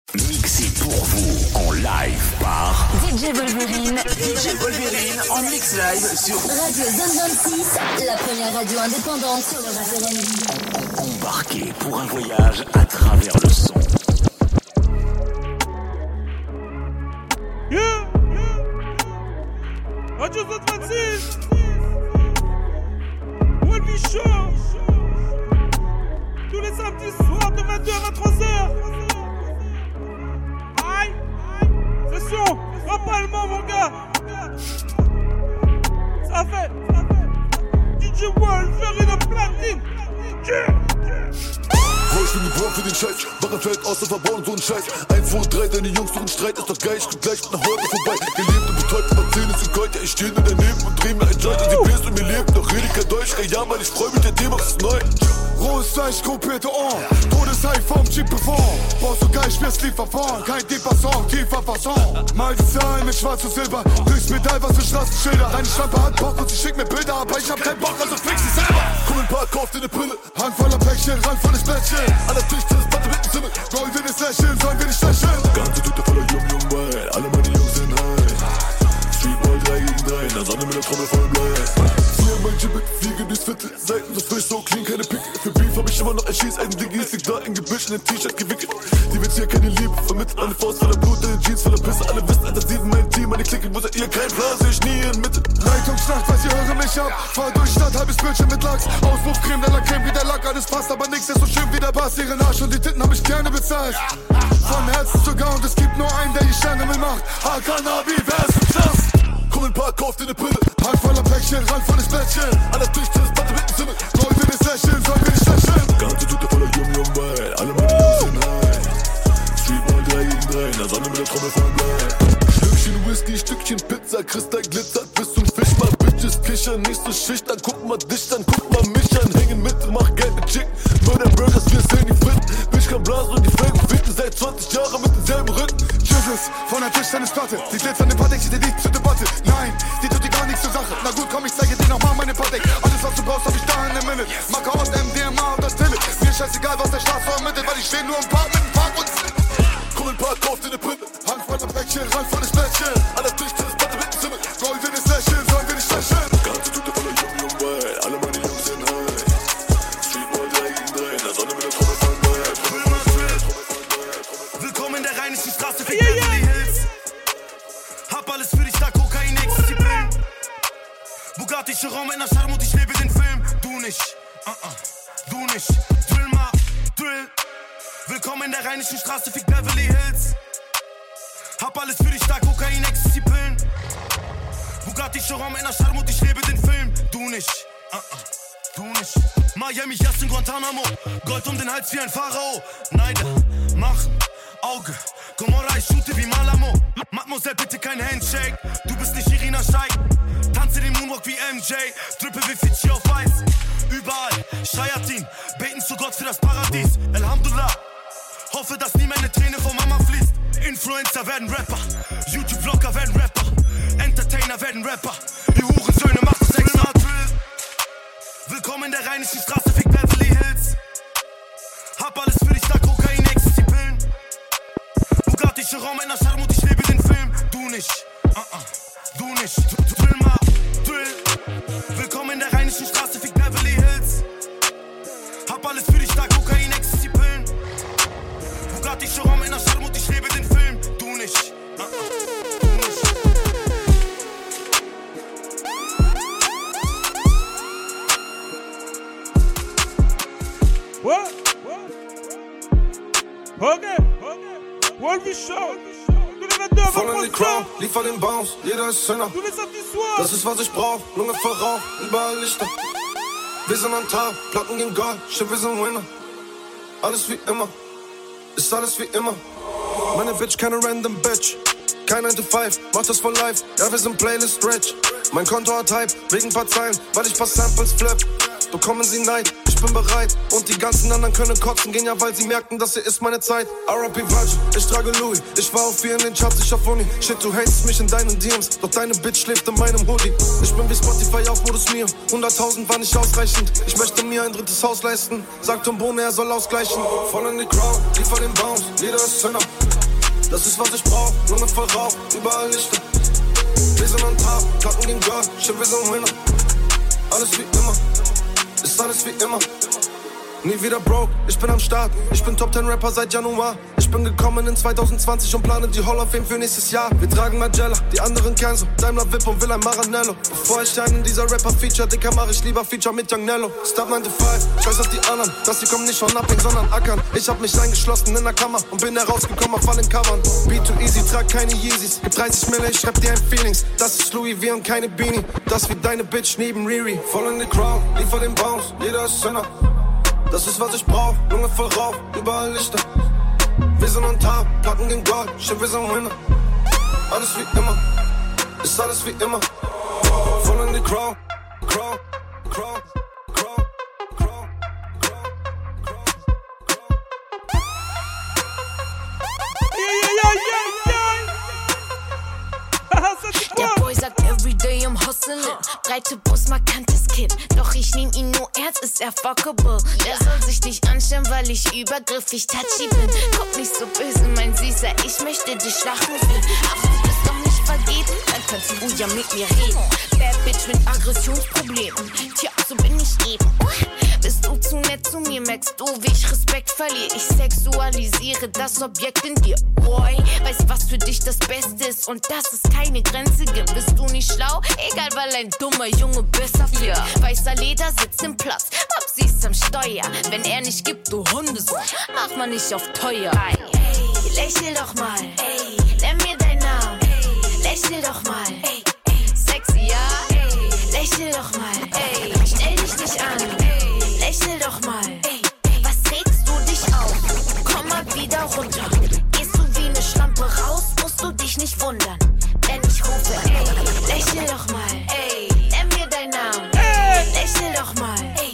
Mixé pour vous en live par DJ Wolverine. DJ Wolverine en mix live sur Radio Zone 26, la première radio indépendante sur le rap R&B. Embarquez pour un voyage à travers le son. Yeah. Radio Zone 26. Wolby Show. Tous les samedis soirs de 22h à 23h. Aïe. Session. Rap allemand, mon gars. Ça fait. DJ Wolverine platine. Bro, ich bin geboren für den Scheiß, Wache fällt aus, der verbauen so ein Scheiß. 1, 2, 3, deine Jungs suchen Streit, ist doch geil, ich komm gleich mit nach Hause vorbei. Gelebt und betäubt, aber Zähne sind Gold, ja, ich steh nur daneben und dreh mir ein Joint in die Bierst und mir lebt, doch rede kein Deutsch, ja, Mann, ich freu mich, der D-Max ist neu. Rohes Fleisch, kopierte Ohren, Todeshigh vom Jeep bevor. Brauchst du geil, schwerst Lieferfahren, kein tiefer Song, tiefer Fasson. Mal die Zahlen mit Schwarz und Silber, durchs Metall, was für Straßenschilder. Deine Schlampe hat Bock und sie schickt mir Bilder, aber ich hab keinen Bock, also fix sie selber. Komm in den Park, kauf dir ne Brille, Hand voller Päckchen, Rand volles Bettchen. An der Tisch, das Platte mit dem Zimmer, wollen wir nicht lächeln, sollen wir nicht lächeln. Ganze Tüte voller Jung, alle meine Jungs sind high. Streetball 3 gegen 3, in der Sonne mit der Trommel voll Blech. Mein Gibbet, fliege durchs Viertel, Seiten so frisch, so clean, keine Pickel. Für Beef hab ich immer noch ein Schießeisen-Diggi, es liegt da im Gebüsch, in dem T-Shirt gewickelt. Die wird hier keine Liebe vermittelt, eine Faust voller Blut, deine Jeans voller Pisse. Alle wissen, Alter, sie sind mein Team, meine Clique, wo seid ihr? Kein Plan, seh ich nie in Mitte. Leitungsnacht, weiß ihr, höre mich ab, fahr durch Stadt, halbes Bildschirm mit Lachs. Auspuffcreme, der Lackcreme wie der Lack, alles passt, aber nix ist so schön wie der Bass. Ihren Arsch und die Titten hab ich gerne bezahlt. Von Herzen sogar und es gibt nur einen, der die Sterne mit macht. Hakanabi, wer ist im Knast? Komm in den Park, kauf dir ne Brille, Hand voller Päckchen, Rand volles Bettchen. An der Tisch, das Platte mit dem Zimmer, wollen wir nicht lächeln, sollen wir nicht lächeln. Ganze Tüte voller Jung, alle meine Jungs sind high. Streetball 3 gegen 3, in der Sonne mit der Trommel voll Blech. Stückchen Whisky, Stückchen Pizza, Kristall glitzert bis zum Fisch. Mal Bitches kichern, nicht so schüchtern, guck mal dich an, guck mal mich an. Hängen mit, mach Geld mit Chicken, Murder Burgers, wir sehen die Fritten. Bitch kann blasen und die Felgen ficken, seit 20 Jahren mit demselben Rücken. Tschüsses, von der Tischtennisplatte, die glitzernde Patek steht dir nicht zur Debatte. Nein, die tut dir gar nichts zur Sache. Na gut, komm, ich zeige dir nochmal meine Patek. Alles, was du brauchst, hab ich da in der Minute. Marke aus MDMA und das Tille. Mir scheißegal, was der Staat vermittelt, weil ich steh nur im Park mit dem Park und komm in den Park, kauf dir ne Brille, Hand voller Päckchen, Rand volles Bettchen. An der Tisch, das Platte mit dem Zimmer, wollen wir nicht lächeln, sollen wir nicht lächeln. Ganze Tüte voller Jung, alle meine Jungs sind high. Streetball 3 gegen 3, in der Sonne mit der Trommel voll Blech. Willkommen in der rheinischen Straße für Beverly Hills. Hab alles für dich, da Kokain, Ecstasy, Pillen. Bugatti, Chiron in der Charme und ich lebe den Film. Du nicht, du nicht. Drill mal, Drill. Willkommen in der rheinischen Straße, fick Beverly Hills. Hab alles für dich, da Kokain, Ecstasy, Pillen. Bugatti, Chiron in der Charme und ich lebe den Film. Du nicht, du nicht. Miami, Yas in Guantanamo. Gold um den Hals wie ein Pharao. Neider, machen, Auge. Gomorra, ich shoote wie Malamo. Mademoiselle, bitte kein Handshake. Du bist nicht Irina Shayk. Tanze den Moonwalk wie MJ. Drippe wie Fidschi auf Weiß. Überall, Shayatin. Beten zu Gott für das Paradies. Alhamdulillah. Hoffe, dass nie meine Träne von Mama fließt. Influencer werden Rapper. YouTube-Vlogger werden Rapper. Entertainer werden Rapper. Die Hurensöhne machen das extra Drill. Willkommen in der rheinischen Straße, fick Beverly Hills. Hab alles für dich, da Kokain, Ecstasy, Pillen. Bugatti, Chiron in der Charme und ich lebe den Film. Du nicht, du nicht. Drill mal, Drill. Willkommen in der rheinischen Straße, fick Beverly Hills. Hab alles für dich, da Kokain, Ecstasy, Pillen. Bugatti, Chiron in der Charme und ich lebe den Film. Du nicht, du nicht. What? Okay. Wolby Show. Voll in die Crowd, liefer den Bounce, jeder ist Sinner. Du bist auf die Swag. Das ist, was ich brauch, Lunge voll Rauch, überall Lichter. Wir sind am Tag, Platten gegen Gold, shit, wir sind Winner. Alles wie immer, ist alles wie immer. Meine Bitch, keine random Bitch. Kein 9 to 5, mach das for life, ja, wir sind Playlist rich. Mein Konto hat Hype, wegen paar Zeilen, weil ich paar Samples flip. Bekommen sie Neid, ich ich bin bereit. Und die ganzen anderen können kotzen gehen, ja, weil sie merken, das hier ist meine Zeit. R.I.P. Virgil, ich trage Louis. Ich war auf 4 in den Charts, ich auf Uni. Shit, du hatest mich in deinen DMs, doch deine Bitch schläft in meinem Hoodie. Ich bin wie Spotify auf Modus Mio. 100.000 war nicht ausreichend. Ich möchte mir ein drittes Haus leisten. Sagt Tombone, er soll ausgleichen. Voll in die Crowd, liefer den Bounce. Jeder ist Zünder. Das ist, was ich brauch. Lunge voll Rauch, überall Lichter. Wir sind on top, Platten gegen Gold. Shit, wir sind Winner. Alles wie immer, ist alles wie immer. Nie wieder broke, ich bin am Start. Ich bin Top 10 Rapper seit Januar. Ich bin gekommen in 2020 und plane die Hall of Fame für nächstes Jahr. Wir tragen Magella, die anderen Kenzo, Daimler Vip und will ein Maranello. Bevor ich einen dieser Rapper feature, Dicker, mach ich lieber Feature mit Young Nello. Stop 95, scheiß auf die anderen, dass sie kommen nicht von Upping, sondern ackern. Ich hab mich eingeschlossen in der Kammer und bin herausgekommen auf allen Covern. Be too easy, trag keine Yeezys. Gib 30 Mille, ich schreib dir ein Feelings. Das ist Louis V und keine Beanie. Das wie deine Bitch neben Riri. Voll in die Crowd, liefer den Bounce, jeder ist Sinner. Das ist, was ich brauch, Lunge voll Rauch, überall Lichter. Wir sind on top, Platten gegen Gold, shit, wir sind Winner. Alles wie immer, ist alles wie immer. Voll in die Crowd, Crowd, Crowd, Crowd, Crowd, Crowd, Der Boy sagt everyday I'm hustling. Breite Brust, markantes Kinn. Doch ich nehm ihn nur ernst, ist er fuckable. Der soll sich nicht anstellen, weil ich übergriffig touchy bin. Guck nicht so böse, mein Süßer, ich möchte dich lachen sehen. Ach, du bist doch nicht vergeben, dann kannst du ja mit mir reden. Bad Bitch mit Aggressionsproblemen. Tja, so bin ich eben. Bist du zu nett zu mir, merkst du, wie ich Respekt verliere. Ich sexualisiere das Objekt in dir, boy. Weißt, was für dich das Beste ist und dass es keine Grenze gibt. Bist du nicht schlau? Egal, weil ein dummer Junge besser fliegt. Weißer Leder sitzt im Platz, Babsi ist am Steuer. Wenn er nicht gibt, du Hundesohn, mach mal nicht auf teuer. Ey, lächel doch mal, ey, nenn mir deinen Namen, ey, lächel doch mal, ey, sexy, ja, ey, lächel doch mal, ey, stell dich nicht an, ey, lächel doch mal, ey, was regst du dich auf? Komm mal wieder runter, gehst du wie eine Schlampe raus, musst du dich nicht wundern, wenn ich rufe, ey, lächel doch mal, ey, nenn mir deinen Namen, ey, lächel doch mal, ey.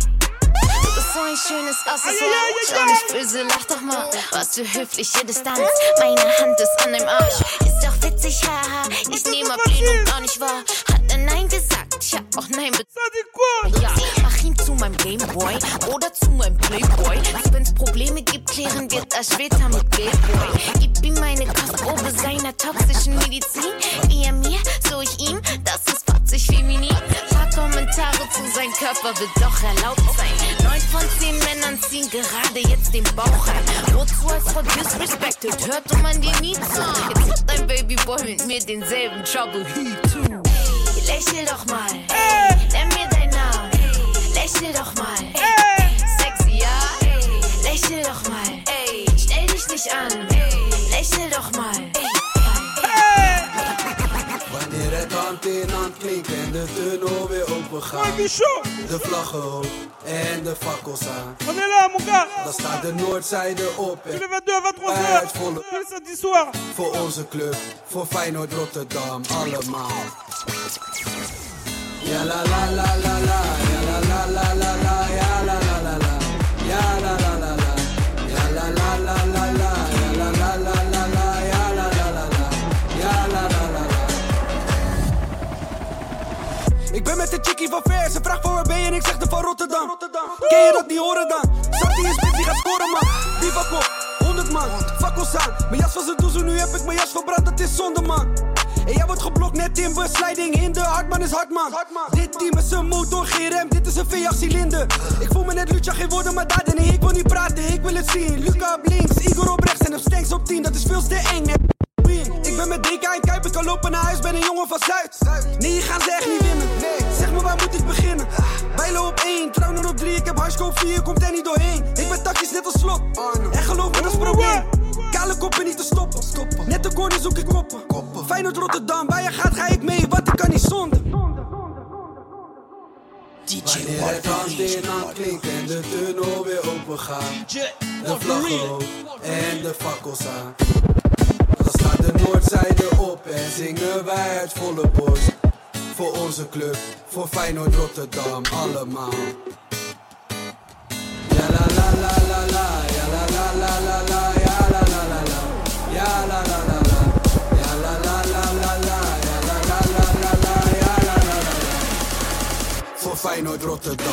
So ein schönes Accessoire, schau nicht böse, lach doch mal. Was für höfliche Distanz, meine Hand ist an deinem Arsch. Ist doch witzig, haha, ich nehme Ablehnung gar nicht wahr. Hat er Nein gesagt, tja, auch Nein ja, mach ihn zu meinem Gameboy oder zu meinem Playboy. Wenn's Probleme gibt, klären wir das später mit Playboy. Gib ihm meine Kostprobe seiner toxischen Medizin. Wie er mir, so ich ihm, das ist fotzig feminin. Paar Kommentare zu seinem Körper wird doch erlaubt sein. 9 von 10 Männern ziehen gerade jetzt den Bauch rein. Wozu als Frau disrespected, hörte man dir nie zu. Jetzt hat dein Babyboy mit mir denselben Trouble he too. Ey, lächel doch mal, ey, nenn mir deinen Namen, ey, lächel doch mal, ey, sexy, ja, ey, lächel doch mal, ey, stell dich nicht an, ey, lächel doch mal, ey. Wanneer het hand in hand klinkt en de tunnel weer open gaat, de vlaggen hoog en de fakkels aan, dan staat de noordzijde op en wij uit volle voor onze club, voor Feyenoord Rotterdam, allemaal. Ja la la la la la, ja la la la la la, ja la la la la, ja la la la la, ja la la la la la, ja la la la la la, ja la la la la, ja la la la la. Ik ben met de chickie van ver, ze vraagt van waar ben je en ik zeg de van Rotterdam. Ken je dat niet horen dan? Sartie is spits, die gaat scoren man. Die van kop, 100 man, fakkels aan. Mijn jas was een doezel, nu heb ik mijn jas verbrand, dat is zonde man. En jij wordt geblokt net in besliding in de Hartman is Hartman. Dit team is een motor, geen rem, dit is een V8 cilinder. Ik voel me net Lucha, geen woorden maar daden. Nee, ik wil niet praten, ik wil het zien. Luca op links, Igor op rechts en op Stanks op 10, dat is veel te eng. Ik ben met DK en Kuip, ik kan lopen naar huis, ben een jongen van Zuid. Nee, je gaat ze echt niet winnen. Nee, zeg me waar moet ik beginnen? Bijlo op 1, Trouwner op 3, ik heb Harsko 4, komt er niet doorheen. Ik ben takjes net als Slot, en geloof me dat is probleem. Kale koppen niet te stoppen, net de corner zoek ik koppen. Feyenoord Rotterdam, waar je gaat ga ik mee, want ik kan niet zonder. Wanneer het hand in hand klinkt en de tunnel weer open gaat, de vlaggen hoog en de fakkels aan, dan staat de noordzijde op en zingen wij uit volle borst. Voor onze club, voor Feyenoord Rotterdam, allemaal. Voor Feyenoord Rotterdam.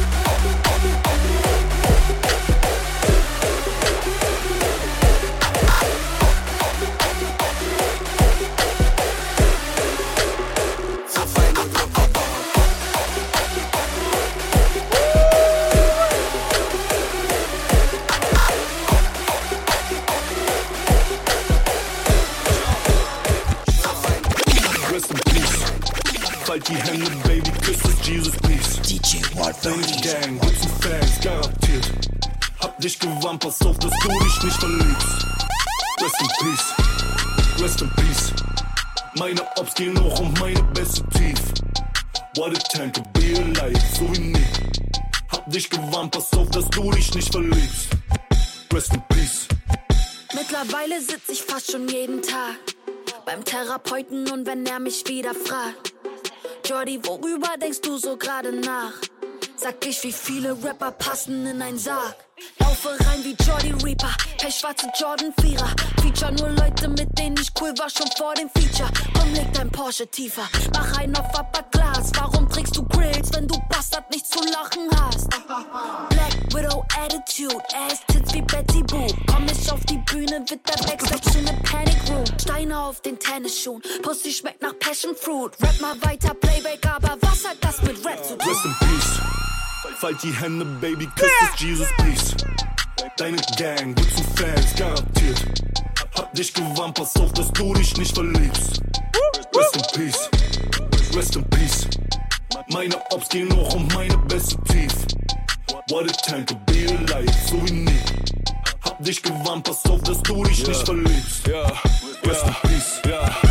Die Hände, Baby, küss es, Jesus, please. DJ Deine Gang, Dutzend Fans, garantiert. Hab dich gewarnt, pass auf, dass du dich nicht verliebst. Rest in peace, rest in peace. Meine Ops gehen hoch und meine Beste tief. What a time to be alive, so wie nie. Hab dich gewarnt, pass auf, dass du dich nicht verliebst. Rest in peace. Mittlerweile sitz ich fast schon jeden Tag beim Therapeuten und wenn er mich wieder fragt, Jordi, worüber denkst du so gerade nach? Sag ich, wie viele Rapper passen in ein Sarg. Laufe rein wie Jordi Reaper, pechschwarze Jordan Vierer. Feature nur Leute, mit denen ich cool war, schon vor dem Feature. Komm, leg dein Porsche tiefer, mach einen auf Upper Class. Warum trägst du Grills, wenn du Bastard nichts zu lachen hast? Black Widow Attitude, Ass Tits wie Betty Boo. Komm ich auf die Bühne, wird der Backstage zu ne Panic Room. Steine auf den Tennisschuhen, Pussy schmeckt nach Passion Fruit. Rap mal weiter, Playback, aber was hat das mit Rap zu tun? Rest in peace. Falt die Hände, Baby, küss es, Jesus, please. Deine Gang, Dutzend Fans, garantiert. Hab dich gewarnt, pass auf, dass du dich nicht verliebst. Rest in peace, rest in peace. Meine Ops gehen hoch und meine Beste tief. What a time to be alive, so wie nie. Hab dich gewarnt, pass auf, dass du dich nicht verliebst. Rest in peace,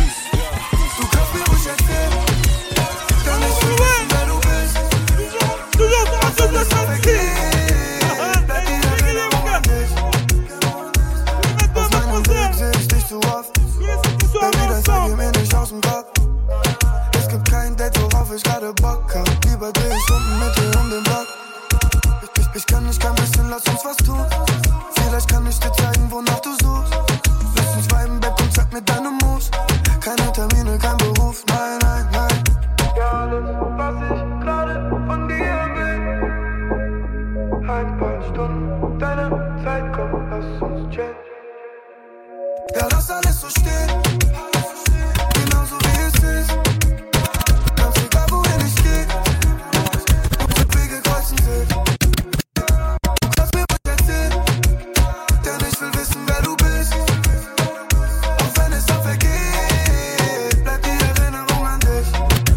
Du kannst mir ruhig erzählen, denn ich will wissen, wer du bist. Auch wenn es vergeht, bleib die Erinnerung an dich. Auf meinem Weg seh ich dich zu oft. Baby, das geht mir nicht aus dem Kopf. Es gibt kein Date, worauf ich gerade Bock hab. Lieber dreh ich Runden mit dir um den Block. Ich kann nicht kein bisschen, lass uns was tun. Vielleicht kann ich dir zeigen, wonach du suchst. Lass uns viben im Bett und zeig mir deine Moves. Keine Termine, kein Beruf, nein, nein, nein. Ja, alles, was ich gerade von dir will. Ein paar Stunden deiner Zeit, komm, lass uns chillen. Ja, lass alles so stehen. Genauso wie es ist. Ganz egal, wohin ich geh. Unsere Wege kreuzen sich. Lass mir was erzählen, denn ich will wissen, wer du bist. Auch wenn es dann vergeht, bleibt die Erinnerung an dich.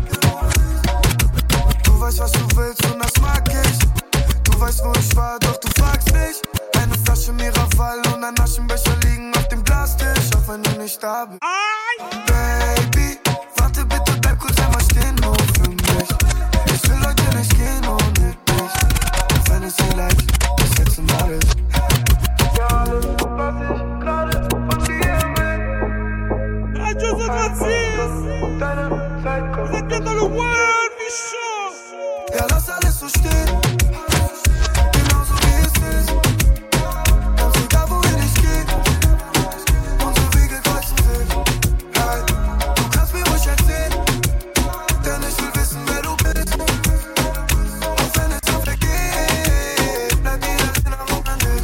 Du weißt, was du willst und das mag ich. Du weißt, wo ich war, doch du fragst nicht. Eine Flasche Miraval und ein Aschenbecher liegen auf dem Glastisch, auch wenn du nicht da bist. Baby, warte bitte, bleib kurz einmal stehen, nur für mich. Ich will heute nicht gehen ohne dich. Auch wenn es dir leid bis jetzt mal ist. Ja, alles, was ich gerade von dir will. Radio Sokrates! Deine Zeit kommt. Vous êtes bien dans le world, Michaud! Ja, lass alles so stehen. Genauso wie es ist. Ganz egal, wohin ich geh. Unsere Wege kreuzen sich. Hey, du kannst mir ruhig erzählen, denn ich will wissen, wer du bist. Auch wenn es dann vergeht, bleibt die Erinnerung an dich.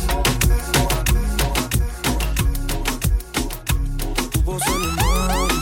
Du brauchst eine Mann,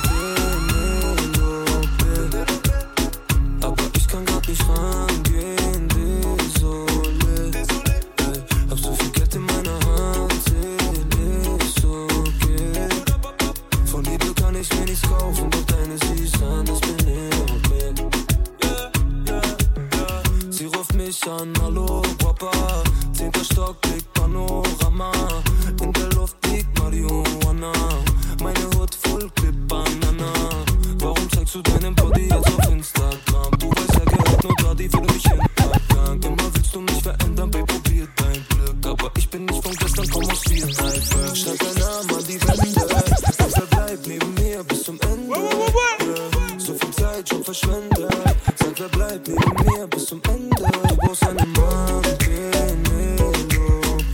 aber ich kann grad nicht rangehen, désolé. Hab so viel Geld in meiner Hand, seh nicht so geht. Von Liebe kann ich mir nichts kaufen, doch deine siehst an, das bin ich okay. Sie ruft mich an, hallo Papa, 10. Stock, Blick Panorama. In der Luft liegt Marihuana, meine Hut voll Clip Banana. Warum zeigst du deinen Body jetzt auf Instagram? Du weißt ja, gehört nur da, die will mich hintergang. Immer willst du mich verändern, Babe, probier dein Glück. Aber ich bin nicht von gestern, komm aus Viereinberg. Schreib deinen Namen an die Wände, sag, bleib neben mir bis zum Ende. So viel Zeit schon verschwendet. Sag, wer bleibt neben mir bis zum Ende. Du brauchst einen Mann, geh Melo.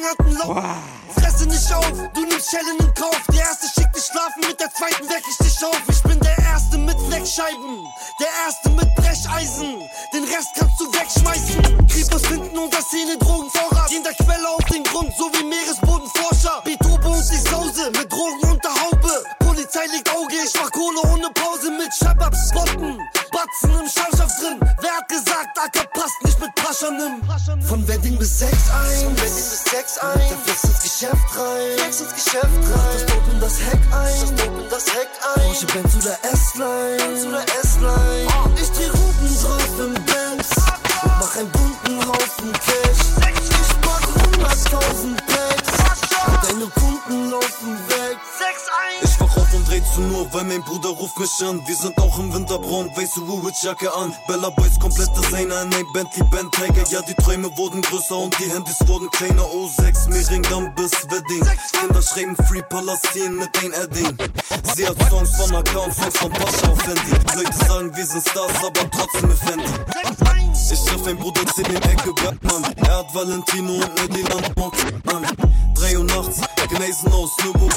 hat einen Lauf. Fresse nicht auf, du nimmst Schellen in Kauf. Der erste schickt dich schlafen, mit der zweiten weck ich dich auf. Ich bin der Erste mit Fleckscheiben, der Erste mit Brecheisen. Den Rest kannst du wegschmeißen. Kriegos finden unter Szene Drogenvorrat. Gehen der Quelle auf den Grund, so wie Meeresbodenforscher. Beethoven und die Sause, mit Drogen unter Haube. Polizei legt Auge, ich mach Kohle ohne Pause. Mit Shababs, Spotten, Batzen im Schallschaft drin. Wer hat gesagt, Acker passt nicht mit Paschanim? Von Wedding bis Sex ein, da flex ins Geschäft rein, das Dope in das Heck ein, Porsche, Benz oder S-Line, ich dreh Runden drauf im Benz und mach einen bunten Haufen Cash. Ich mach 100.000 Packs und deine Kunden laufen weg. Ich wach auf und dreh zu nur, weil mein Bruder ruft mich an. Wir sind auch im Winterbraun, weiße Woolwich-Jacke an. Bella Boys, komplette Zähne, ein Bentley, Bandtiger. Ja, die Träume wurden größer und die Handys wurden kleiner. O6, Mehringdamm bis Wedding. Kinder schreiben Free Palastin mit ein Edding. Sie hat Songs von AK und Songs von Pascha auf Handy. Die Leute sagen, wir sind Stars, aber trotzdem mit Fendi. Ich treff mein Bruder, zähl den Ecke Bergmann. Er hat Valentino und Nediland an. 3 Uhr nachts, Gneisen aus Nürburg.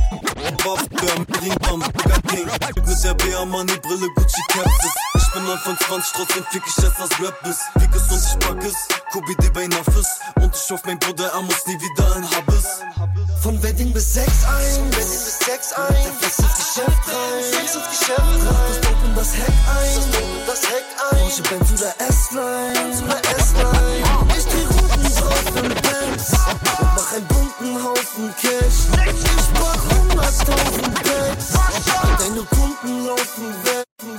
Mit der BA-Money, Brille, Gucci, Capsis. Ich bin Anfang 20, trotzdem fick ich jetzt das Rap-Biss. Fick es und ich pack es, Kobe D bei Nafis. Und ich hoff, mein Bruder, er muss nie wieder ein Habis. Von Wedding bis Sex ein, da flex ins Geschäft rein, das Dope in das Heck ein, Porsche, Benz oder S-Line, ich dreh Runden drauf im Benz und mach einen bunten Haufen Cash. Ich mach 100.000 Packs und deine Kunden laufen weg.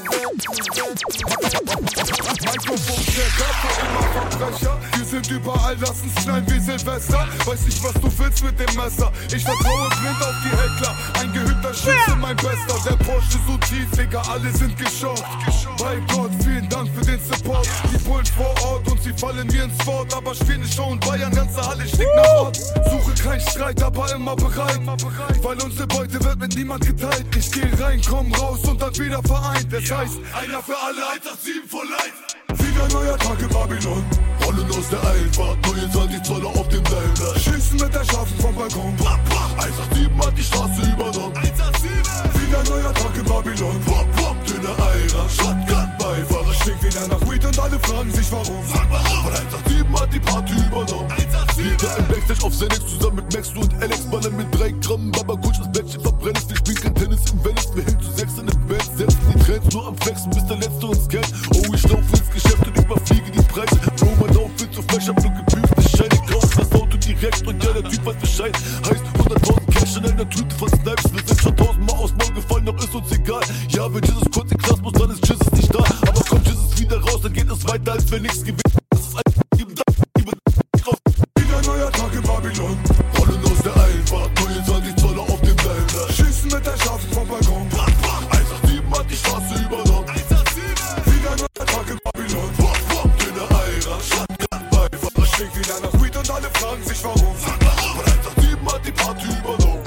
Mikrofon-Check, immer Verbrecher. Wir sind überall, lass uns knallen wie Silvester. Weiß nicht, was du willst mit dem Messer. Ich vertraue blind auf die Heckler. Ein gehübter Schütze, mein Bester. Der Porsche so tief, Digga, alle sind geschockt. Bei Gott, vielen Dank für den Support. Die Bullen vor Ort und sie fallen mir ins Wort. Aber spielen nicht Show in Bayern, ganze Halle stinkt nach Ort. Suche keinen Streit, aber immer bereit. Weil unsere Beute wird mit niemand geteilt. Ich geh rein, komm raus und dann wieder vereint. Das heißt, einer für alle, 187 for life. Wieder neuer Tag in Babylon. Rollen aus der Einfahrt, 29 Zoller auf dem Wälder. Schießen mit der Schafen vom Balkon. 187 hat die Straße übernommen. 187. Wieder neuer Tag in Babylon. Dünne Eira, Shotgun-Beifahrer. Stinkt wieder nach Weed und alle fragen sich warum. Sag warum. Und 187 hat die Party übernommen. 187. Wieder im Backstage auf Xanax zusammen mit Max und Alex. Ballern mit 3 Gramm, Baba Kutsch, das Bettchen verbrennt es. Wir spielen kein Tennis im Venice. Wir hängen zu 6 in dem Bett. Setzen die Trends nur am Flexen, bis der Letzte uns kennt. Oh, ich lauf ins Geschäft und überfliege die Preise. Bro, mein Outfit so fresh, hab nur geprüft. Ich scheine raus, das Auto direkt und ja, der Typ weiß Bescheid. Heißt 100.000 Cash in einer Tüte von Snipes. Wir sind schon 1000-mal aus Maul gefallen, doch ist uns egal. Ja, wenn Jesus kurz in Klasse muss, dann ist Jesus nicht da. Aber kommt Jesus wieder raus, dann geht es weiter, als wenn nichts gewinnt. Das ist ein wieder neuer Tag in Babylon. Rollen aus der Einfahrt, 29 Zoller auf dem Wälder. Schießen mit der Schafen vom Balkon. 187 hat die Straße übernommen. 187. Wieder neuer Tag in Babylon. Dünne Eira, Shotgun-Beifahrer. Stinkt wieder nach Weed und alle fragen sich warum. Und 187 hat die Party übernommen.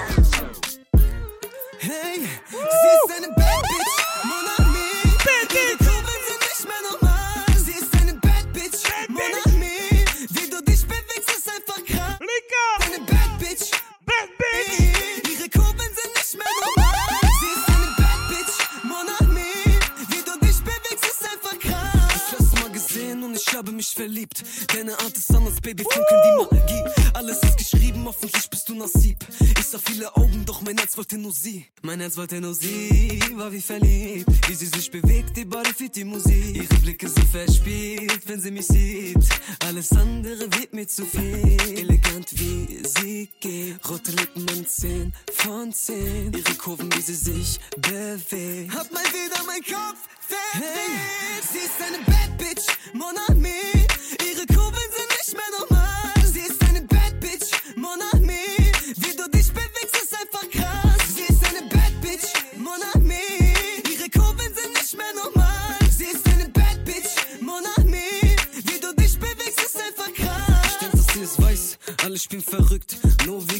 Hey, sie ist eine Bad Bitch, mon ami. Ihre Kurbeln sind nicht mehr normal. Sie ist eine Bad Bitch, mon ami. Wie du dich bewegst, ist einfach krass. Eine Bad Bitch, ihre Kurbeln sind nicht mehr normal. Sie ist eine Bad Bitch, mon ami. Wie du dich bewegst, ist einfach krass. Ich hab's mal gesehen und ich habe mich verliebt. Deine Art ist anders, Baby, funkeln wie Magie. Alles ist geschrieben, hoffentlich bist du Nasib. Ich sah viele Augen, doch mein Herz wollte nur sie. Mein Herz wollte nur sie, war wie verliebt. Wie sie sich bewegt, die Body für die Musik. Ihre Blicke so verspielt, wenn sie mich sieht. Alles andere wird mir zu viel. Elegant wie sie geht, rote Lippen und 10 von 10. Ihre Kurven, wie sie sich bewegt. Hat mal wieder mein Kopf verdreht. Sie ist eine Bad Bitch, mon ami. Ihre Kurbeln sind nicht mehr normal. Sie ist eine Bad Bitch, mon ami. Wie du dich bewegst, ist einfach krass. Sie ist eine Bad Bitch, mon ami. Ihre Kurbeln sind nicht mehr normal. Sie ist eine Bad Bitch, mon ami. Wie du dich bewegst, ist einfach krass. Ich denk, dass sie es weiß, alle spielen verrückt. Nur wegen dir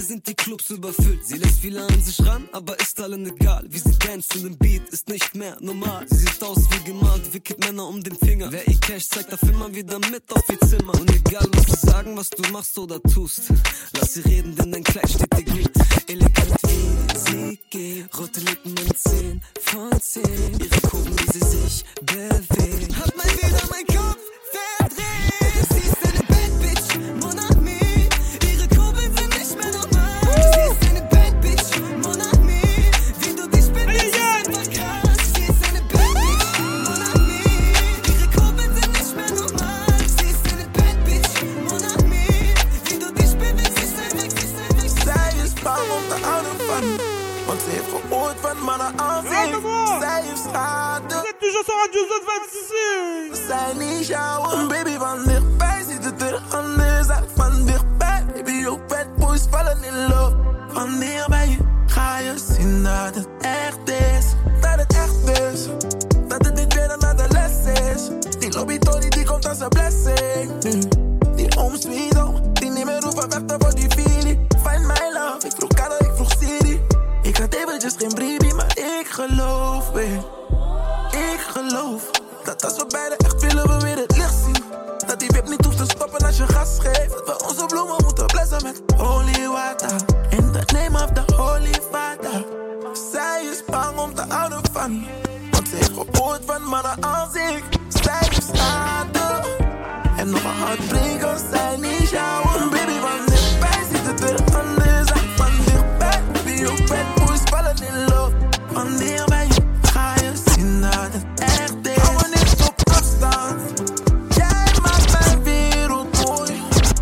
sind die Clubs überfüllt. Sie lässt viele an sich ran, aber ist allen egal. Wie sie dancen im Beat ist nicht mehr normal. Sie sieht aus wie gemalt, wickelt Männer um den Finger. Wer ihr Cash zeigt, darf immer wieder mit auf ihr Zimmer. Und egal was sie sagen, was du machst oder tust, lass sie reden, denn dein Kleid steht dir gut. Elegant wie sie geht, rote Lippen in 10 von 10. Ihre Kurven, wie sie sich bewegt, hat mal wieder mein Kopf verdreht. Sie ist eine Bad Bitch, mon ami. Ihre Kurbeln sind nicht mehr normal. Sie ist eine Bad Bitch, mon ami. Wie du dich benimmst, ist einfach krass. Sie ist eine Bad Bitch, mon ami. Ihre Kurbeln sind nicht mehr normal. Sie ist eine Bad Bitch, mon ami. Wie du dich benimmst, ist einfach krass. Zij is bang om te houden van me, want ze heeft gehoord van mannen als ik. Zij heeft schade. Vous êtes toujours sur Radio Z26. Zij niet jou, een baby van dichtbij. Ziet het er anders uit van dichtbij. Baby, ook bad boys vallen in love. Wanneer bij je ga je zien dat het echt is. Dat het echt is. Dat het niet weer een de les is. Die lobby Tony die komt als een blessing. Die home sweet home, die niet meer hoeven vechten voor die feeling. Find my love, ik vroeg Kado, ik vroeg Siri. Ik had eventjes geen briefie, maar ik geloof weer. Ik geloof dat als we beiden echt willen, we weer het licht zien. Dat die wip niet hoeft te stoppen als je gas geeft. Dat we onze bloemen moeten blessen met holy water. In the name of the holy father. Zij is bang om te houden van me, want ze heeft gehoord van mannen als ik. Zij heeft schade en nog een hartbreak als zij niet jou. Een baby van dichtbij ziet het er anders uit van dichtbij. Baby, ook bad boys vallen in love. Wanneer bij je ga je zien dat het echt is. Hou me niet op afstand. Jij maakt mijn wereld mooi.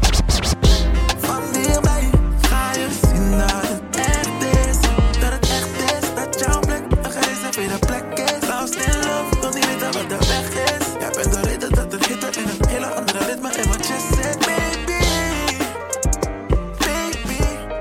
Wanneer bij je ga je zien dat het echt is. Dat het echt is, dat jouw plek een gereserveerde plek is. Lost in love, wil niet weten wat de weg is. Jij bent de reden dat er hitte in een hele andere ritme in mijn chest zit. Baby, baby.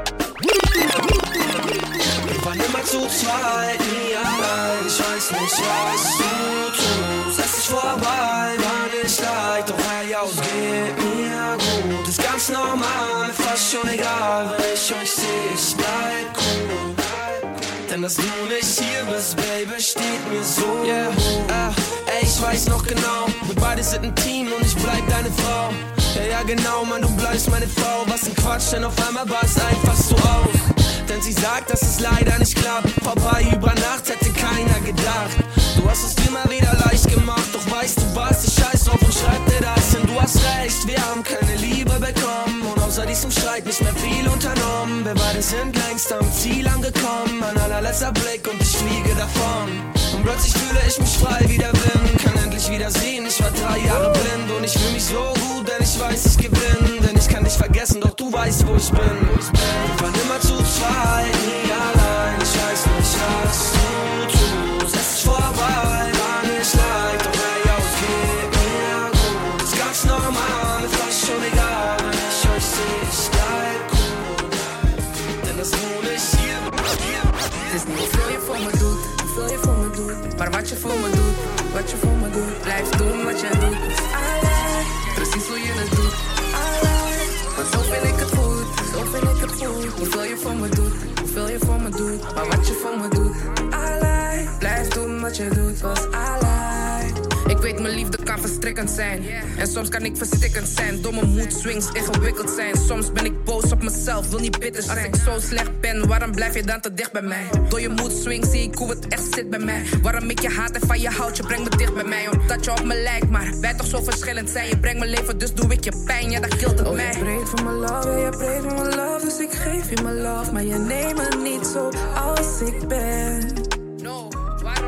Wir waren immer zu zweit, nie allein. Ich weiß nicht, was du tust. Es ist vorbei, war nicht leicht. Doch hey, ausgeht mir gut. Ist ganz normal, fast schon egal. Wenn ich euch seh, ich bleib cool. Denn dass du nicht hier bist, Baby, steht mir so gut. Ey, ich weiß noch genau, wir beide sind ein Team und ich bleib deine Frau. Ja, genau, Mann, du bleibst meine Frau. Was ein Quatsch, denn auf einmal war es einfach so auf. Denn sie sagt, dass es leider nicht klappt. Vorbei über Nacht hätte keiner gedacht. Du hast es dir mal wieder leicht gemacht. Doch weißt du was, ich scheiß drauf und schreib dir das. Denn du hast recht, wir haben keine Liebe bekommen. Und außer diesem Streit nicht mehr viel unternommen. Wir beide sind längst am Ziel angekommen. Mein allerletzter Blick und ich fliege davon. Und plötzlich fühle ich mich frei wie der Wind. Kann endlich wieder sehen, ich war 3 Jahre blind. Und ich fühle mich so gut, denn ich weiß, ich gewinne. Denn ich kann dich vergessen, doch du weißt, wo ich bin. Wir waren immer zu zweit, nie allein. Ich weiß nicht, was du tust. Es ist vorbei, war nicht leicht. Doch hey, ausgeht mir gut. Ist ganz normal, mir fast schon egal. Wenn ich euch seh, ich bleib cool. Denn dass du nicht hier bist. Het is niet hoeveel je voor me doet, hoeveel je voor me doet. Maar wat je voor me doet, wat je voor me doet. Blijf doen wat je doet. Alright, precies hoe je het doet. Alright, want zo vind ik het goed, zo vind ik het goed. Hoeveel je voor me doet, hoeveel je voor me doet. Maar wat je voor me doet. Alright, blijf doen wat je doet, was alright. Ik weet mijn liefde kan verstrikkend zijn. En soms kan ik verstikkend zijn. Domme mood swings ingewikkeld zijn. Soms ben ik boos op mezelf, wil niet bitter zijn. Als ik zo slecht ben, waarom blijf je dan te dicht bij mij? Door je mood swings zie ik hoe het echt zit bij mij. Waarom ik je haat en van je houd, je brengt me dicht bij mij. Omdat je op me lijkt, maar wij toch zo verschillend zijn. Je brengt mijn leven, dus doe ik je pijn, ja dat killt het mij. Je breekt voor mijn love, ja, je breekt voor mijn love. Dus ik geef je mijn love, maar je neemt me niet zo als ik ben. No, waarom?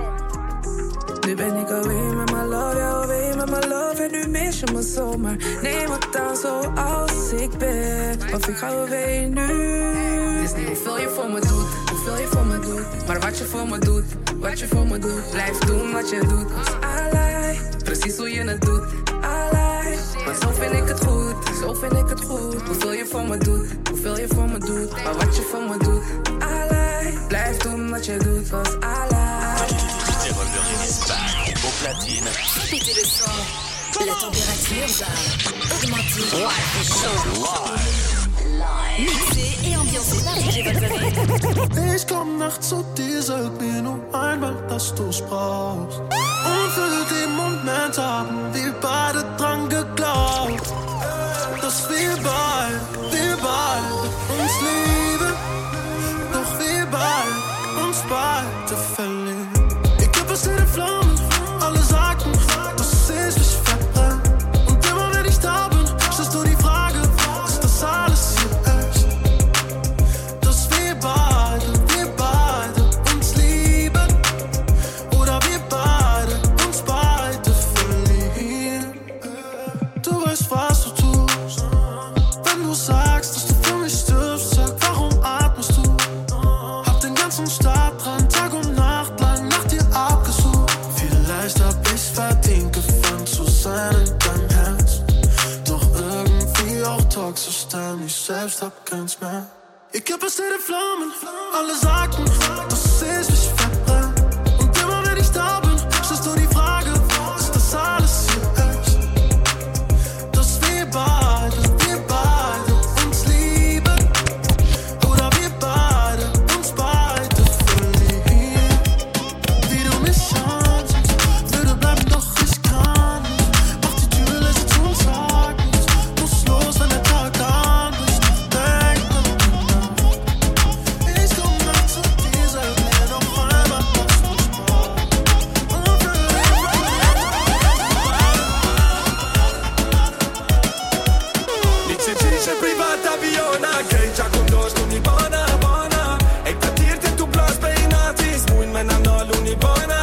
Nu ben ik alweer met mijn love, ja alweer met mijn love. En nu mis je me zomaar, neem het dan zo als ik ben. Of ik ga alweer nu. Het is niet hoeveel je voor me doet, hoeveel je voor me doet. Maar wat je voor me doet, wat je voor me doet. Blijf doen wat je doet, alright. Precies hoe je het doet, alright. Maar zo vind ik het goed, zo vind ik het goed. Hoeveel je voor me doet, hoeveel je voor me doet. Maar wat je voor me doet, alright. Blijf doen wat je doet, was alright. Au platine. Répétez le son. La température va augmenter. Live. Mixé et ambiancé par DJ Wolverine. Ich komm nachts zu dir, sag mir nur einmal, dass du's brauchst. Und für den Moment haben wir beide dran geglaubt, dass wir beide uns lieben. Doch wir beide uns beide verlieren. Ich geb es in den Flammen, alle sagten, dass es mich verbrennt. Und immer wenn ich da bin, stellst du die Frage, ist das alles hier echt? Dass wir beide uns lieben. Oder wir beide uns beide verlieren. Du weißt, was du tust, wenn du sagst, dass du für mich stirbst. Sag, warum atmest du? Hab den ganzen Stadtrand Tag und Nacht lang nach dir abgesucht. Vielleicht hab ich's verdient, gefangen zu sein in deinem Herz. Doch irgendwie auch toxisch, denn ich selbst hab keins mehr. Ich geb es in den Flammen, alle sagten, dass es mich verbrennt. Und immer wenn ich da bin, stellst du die Frage, ist das alles hier echt? Dass wir beide uns lieben. Oder wir beide uns beide verlieren. Wie du mich ansiehst, würde bleiben, doch ich kann nicht. Mach die Tür leise zu und sag nichts. Muss los, wenn der Tag anbricht. Denk an die Nacht. Ich komm nachts zu dir, sag mir noch einmal, was du brauchst. Und für den Nici privata aviona, che già conosco ogni buona. E per dirti tu plus peinati, smuin me na no l'uni buona.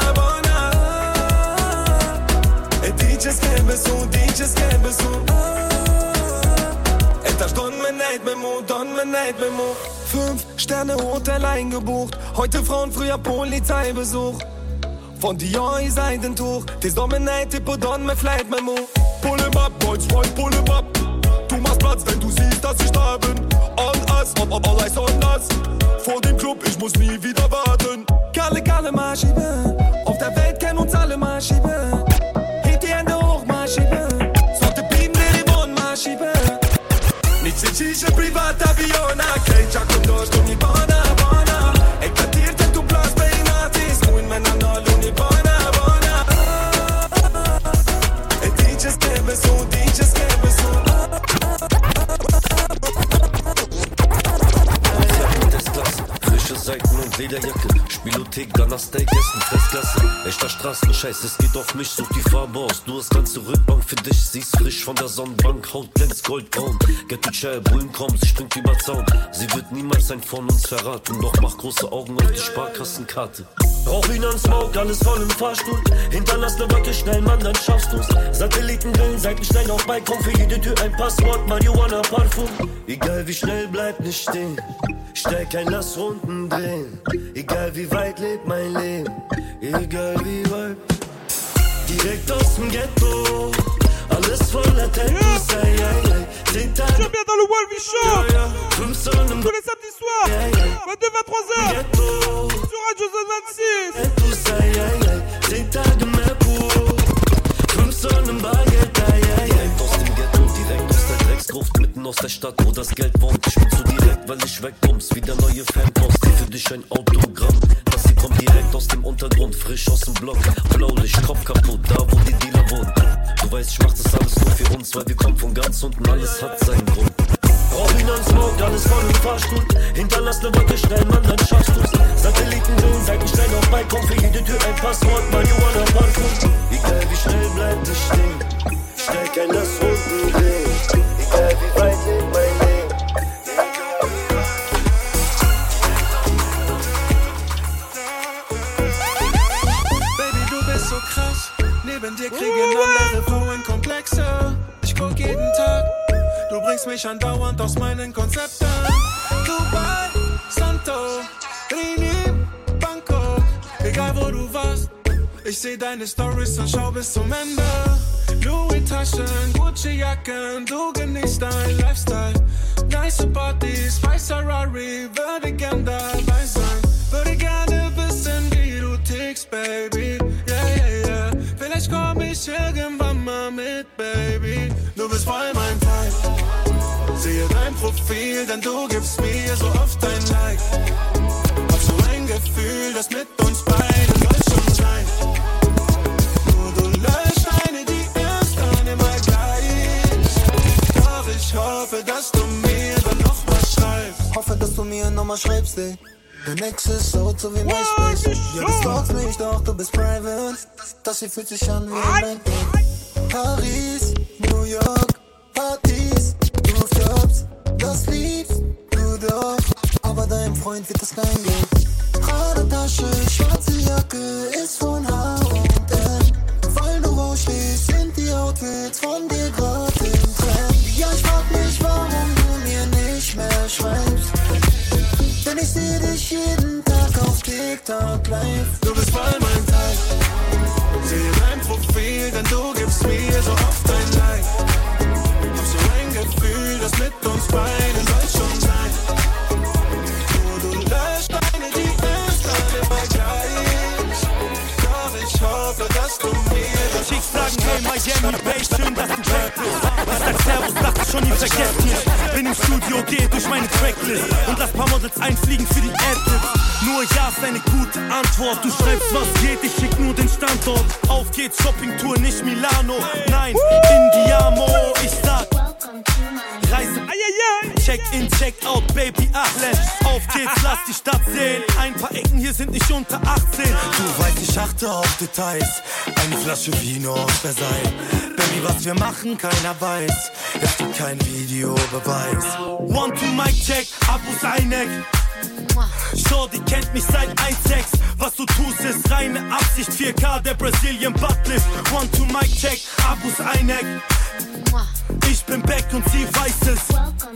E dices che besu. Et das don me neid me mo. 5 Sterne Hotel eingebucht, heute Frauen, früher Polizeibesuch. Von Dior i Seidentuch, des don me neid, tipo don me fleit me mo. Pull him up, boys, pull him up. Du machst Platz, wenn du siehst, dass ich da bin. On us, all eyes on us. Vor dem Club, ich muss nie wieder warten. Kalle, mal schieben. Auf der Welt kennen uns alle mal schieben. Heb die Hände hoch, mal schieben. Sollte blieben, der Wohn, mal schieben. Nici privata aviona, che già conosco ogni buona. E per dirti tu plus peinati, smuin me na no l'uni buona. E dices che besu. Frische Seiten und Lederjacke, Spielothek, danach Steak essen, Fressklasse. Echter Straßenscheiß, es geht auf mich, such die Farbe aus. Du hast ganze Rückbank für dich, siehst frisch von der Sonnenbank. Haut glänzt goldbraun, Ghetto Chair, Bullen kaum, sie springt über Zaun. Sie wird niemals ein von uns verraten, doch mach große Augen auf die Sparkassenkarte. Rauch ans Smoke, alles voll im Fahrstuhl. Hinterlass ne Wacke, schnell, Mann, dann schaffst du's. Satelliten drin, Seiten schnell auf Balkon. Für jede Tür ein Passwort, Marihuana, Parfum. Egal wie schnell, bleib nicht stehen. Steig ein, lass Runden drehen. Egal wie weit lebt mein Leben. Egal wie weit. Direkt aus dem Ghetto. Alles voller Tattoos, ay. 10 Tage. Je viens dans le Wolvie Show. Tous les samedis soirs. 22-23h. Sur Radio Zone 26. Tattoos, 10 Tage mehr pur. 5 Sonnen Bargeld, Direkt aus dem Ghetto, direkt aus der Drecksgruft. Mitten aus der Stadt, wo das Geld wohnt. Ich bin zu direkt, weil ich wegkommst. Wieder neue Fanpost, die für dich ein Autogramm. Das hier kommt direkt aus dem Untergrund, frisch aus dem Block. Blaulicht, Kopf kaputt, da wo die Dealer wohnen. Du weißt, ich mach das alles nur für uns, weil wir kommen von ganz unten, alles hat seinen Grund. Rauch ans Smoke, alles voll im Fahrstuhl. Hinterlass ne Wacke, schnell, Mann, dann schaffst du's. Satelliten drin, Seiten schnell auf Balkon. Für jede Tür ein Passwort, Marihuana, Parfum. Egal wie schnell, bleib nicht stehen. Steig ein, lass Runden drehen. Egal wie weit lebt mein Leben. Baby, du bist so krass. Neben dir kriegen andere Frauen Komplexe. Ich guck jeden Tag. Du bringst mich andauernd aus meinen Konzepten. Dubai, Santo, Rini, Bangkok. Egal wo du warst, ich seh deine Stories und schau bis zum Ende. Louis-Taschen, Gucci-Jacken, du genießt dein Lifestyle. Nice Partys, weiß Ferrari, würde gern dabei sein. Würde gerne wissen, wie du tickst, Baby. Yeah. Vielleicht komm ich irgendwann mal mit, Baby. Du bist voll mein Type. Sehe dein Profil, denn du gibst mir so oft dein Like. Gefühl, das mit uns beiden soll schon sein. Nur du löscht eine, die ist dann immer gleich. Doch ich hoffe, dass du mir dann noch was schreibst. Hoffe, dass du mir nochmal schreibst, ey. Dein Ex ist so wie MySpace. Ja, du stalkst mich, doch du bist private. Das hier fühlt sich an wie ein Magnet. Paris, New York, Partys, Rooftops. Das liebst du doch, aber deinem Freund wird das kein Geld. Pradetasche, schwarze Jacke, ist von H&M. Weil du rausstehst, sind die Outfits von dir grad im Trend. Ja, ich frag mich, warum du mir nicht mehr schreibst. Denn ich seh dich jeden Tag auf TikTok live. Du bist voll mein Teil. Sehe dein Profil, denn du gibst mir so oft ein Like. Hab so ein Gefühl, das mit uns beiden soll schon sein. Nur du löscht eine, die ist dann immer gleich. Doch ich hoffe, dass du mir das Chicks sagen, hey Miami Bass, schön, dass du weg bist. Ich sag Servus, dachte schon, ihr vergesst mich. Bin im Studio, geh durch meine Tracklist und lass paar Models einfliegen für die Adlibs. Nur ja ist eine gute Antwort. Du schreibst, was geht, ich schick nur den Standort. Auf geht's, Shoppingtour, nicht Milano. Nein, Indiamo, ich sag Reise, Check-in, Check-out, Baby, Ahlen. Auf geht's, lass die Stadt sehen. Ein paar Ecken hier sind nicht unter 18. Du weißt, ich achte auf Details. Eine Flasche Vino aus Versailles. Baby, was wir machen, keiner weiß. Es gibt kein Videobeweis. One to mic check, Abus Eineck. Shorty kennt mich seit 1.6. Was du tust ist reine Absicht. 4K, der Brazilian Buttlift. One to mic check, Abus Eineck. Ich bin back und sie weiß es.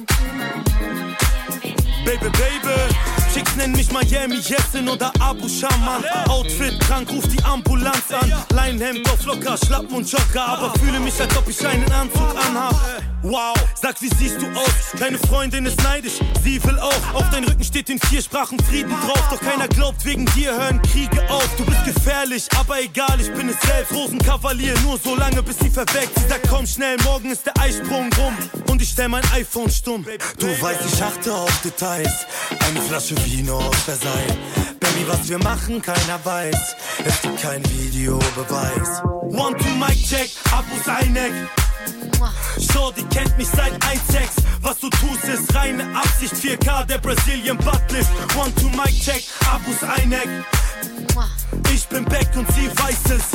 Baby, Baby. Chicks nennen mich Miami Jessin oder Abu Shaman. Outfit krank, ruf die Ambulanz an. Leinenhemd auf locker, Schlappen und Jogger. Aber fühle mich, als ob ich einen Anzug anhab. Wow, sag, wie siehst du aus? Deine Freundin ist neidisch, sie will auch. Auf deinem Rücken steht in 4 Sprachen Frieden drauf. Doch keiner glaubt, wegen dir hören Kriege auf. Du bist gefährlich, aber egal, ich bin es selbst. Rosenkavalier, nur so lange, bis sie verweckt. Sie sagt, komm schnell, morgen ist der Eisprung rum. Und ich stell mein iPhone stumm. Du weißt, ich achte auf Details. Eine Flasche Vino aus Versailles. Baby, was wir machen, keiner weiß. Es gibt kein Videobeweis. One to mic check, Abus Eineck. Shorty kennt mich seit 1.6. Was du tust ist reine Absicht. 4K, der Brazilian Buttlift. One to mic check, Abus Eineck. Ich bin back und sie weiß es.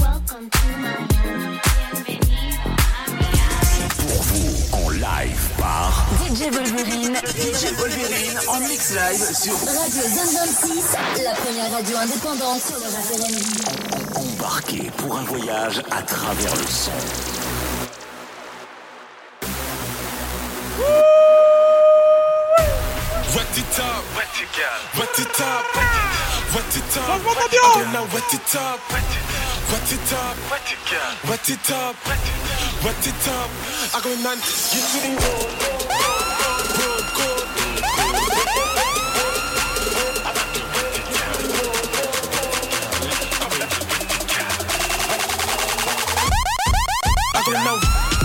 Pour vous en live par DJ Wolverine. DJ Wolverine en mix live sur Radio Zone 26, la première radio indépendante sur le rap R&B. Embarquez pour un voyage à travers le son. Wet it up, wet it up, wet it up, wet it up, wet it up, wet it up, wet it up, wet it up. I go none, get to the road, I go now.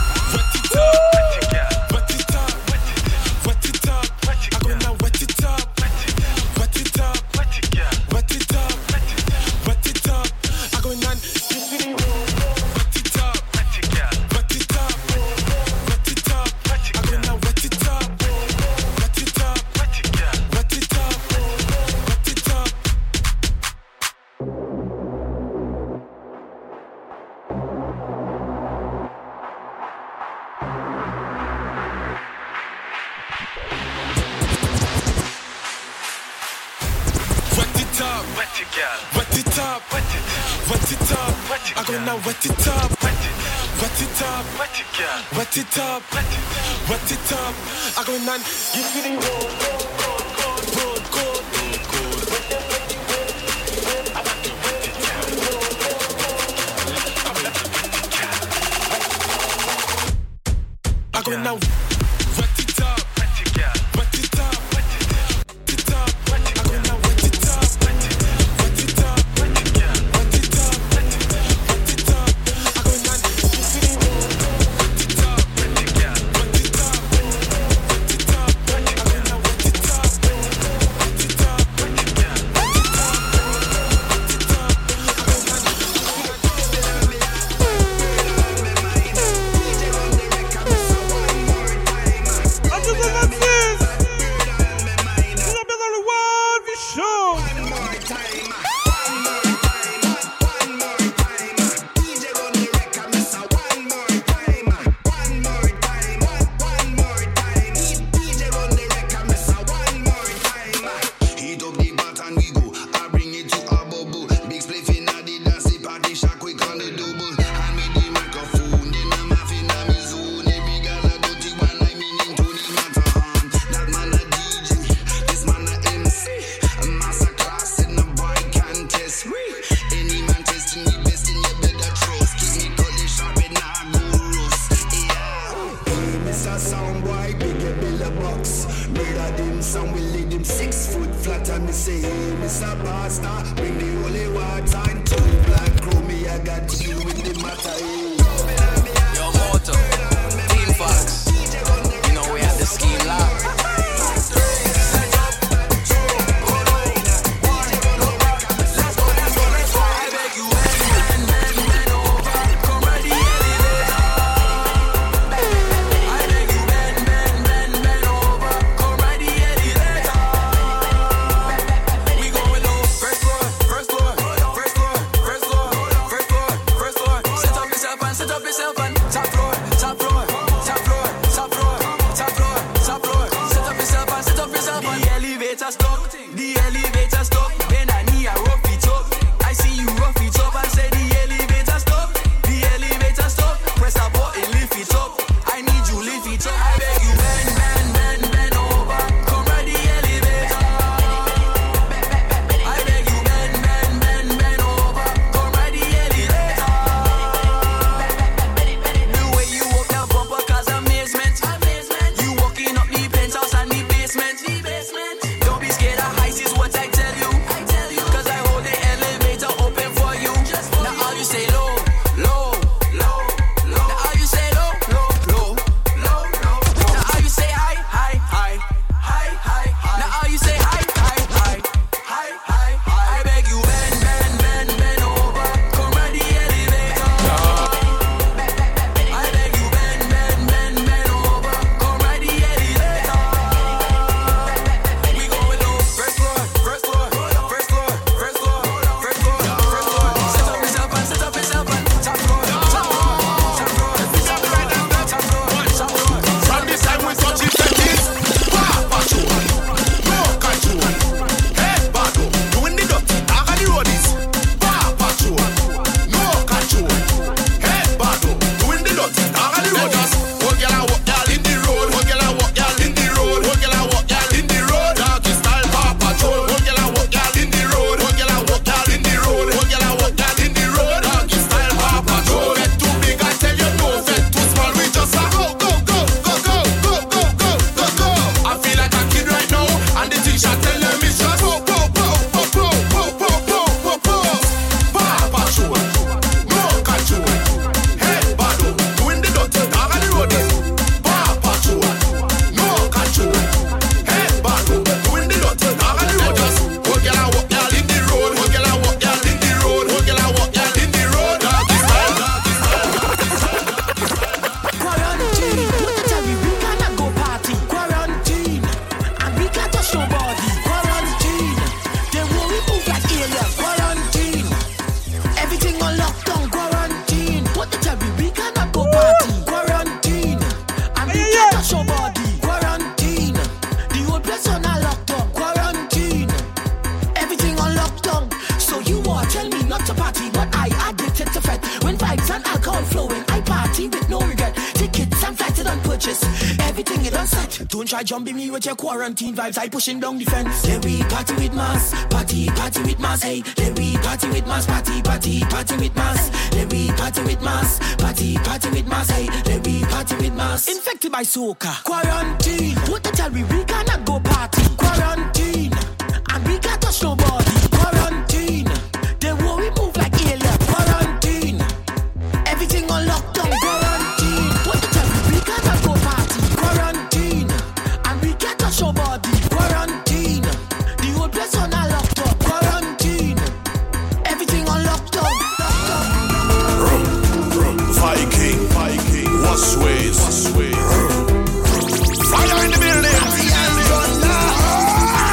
Wet it up, wet it up, wet it up, wet it up. I go none, give me the road. I go now. Wet it up, wet it up, wet it up. I go now. Wet it up, wet it up, wet it up. Wet it up. foot flat and me say, hey, Mr. Pastor, bring the holy water and two black crew. Me, I got to deal with the matter. Yo, Moto, Team Fox. You know we have the scheme locked. Jumping me with your quarantine vibes, I pushing down the fence. Then we party with mass, party with mass, hey. Then we party with mass, party with mass. Then we party with mass, party with mass, hey. Then we party with mass. Infected by soca, quarantine. What the tell we cannot go party. Quarantine, and we can't touch nobody. Quarantine, then what we move like alien. Quarantine, everything on lockdown. Quarantine, what the tell we cannot go party. Quarantine. Your body, quarantine. The whole place on a lockdown. Quarantine. Everything on lockdown. Viking, wash ways. Fire in the building.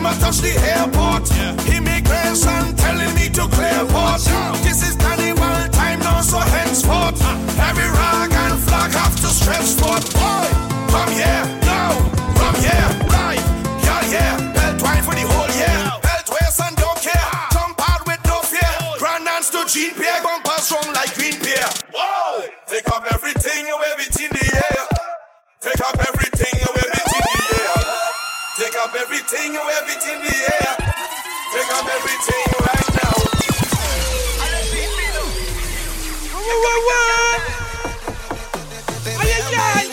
never touch the airport. Immigration telling me to clear port. This is carnival time now, so henceforth every rag and flag have to stretch forth. Boy, come here, now, from here, live, yeah, belt wine for the whole year. Belt waist and don't care, jump out with no fear. Grand dance to Jean Pierre, bumper strong like Green Pierre. Whoa, take up everything and wave it in the air. Take up everything and wave it in the air. Take up everything and wave it in the air. Take up everything right now. Ay, ay, ay.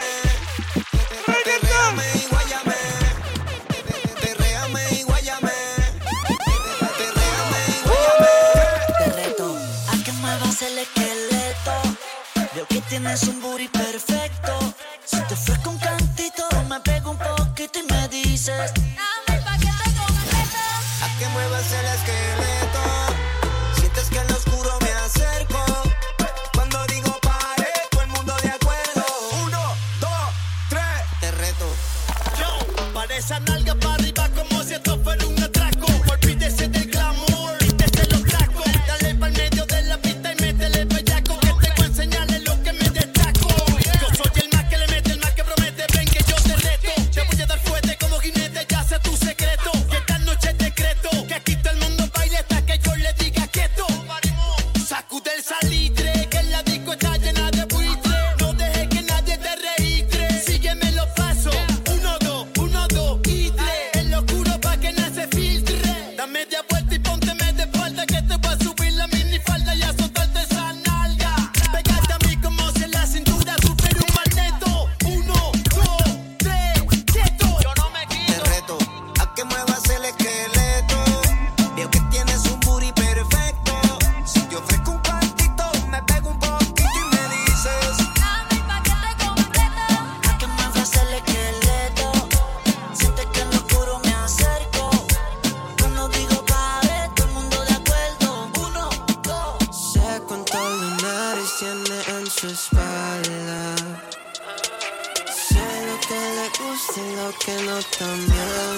Te reto a que muevas el esqueleto. Veo que tienes un booty perfecto. Si te ofrezco un cantito, me pego un poquito y me dices: dame pa' que te completo. A que muevas el esqueleto. Sientes que en lo oscuro me acerco. Cuando digo pare, todo el mundo de acuerdo. 1, 2, 3. Te reto. Yo, para esa nalga para arriba como si esto fuera un atraco. Olvídese del glamour, olvídese los tracos. Dale pa'l medio de la pista y métele bellaco. Que te voy a enseñarle lo que me destaco. Yo soy el más que le mete, el más que promete. Ven que yo te reto. Te voy a dar fuerte como jinete, ya sé tu secreto. Que esta noche es decreto. Que aquí todo el mundo baile hasta que yo le diga quieto. Sacude el salitre, que en la disco está llena de buitre. No dejes que nadie te registre. Sígueme los pasos. 1, 2, 1, 2 y 3. En lo oscuro pa' que nada se filtre. Da media vuelta y pónteme de espalda. Que te voy a subir la minifalda y a soltarte esa nalga. Pégate a mí como si en la cintura supiera un magneto. 1, 2, 3, quieto. Yo no me quito. Te reto a que muevas el esqueleto. Veo que tienes un booty perfecto. Si te ofrezco un cuartito, me pego un poquito y me dices: dame pa' que te completo. A que muevas el esqueleto. Sientes que en lo oscuro me acerco. Cuando digo pare, todo el mundo de acuerdo. 1, 2. Sé cuántos lunares tiene en su espalda. Sé lo que le gusta y lo que no también.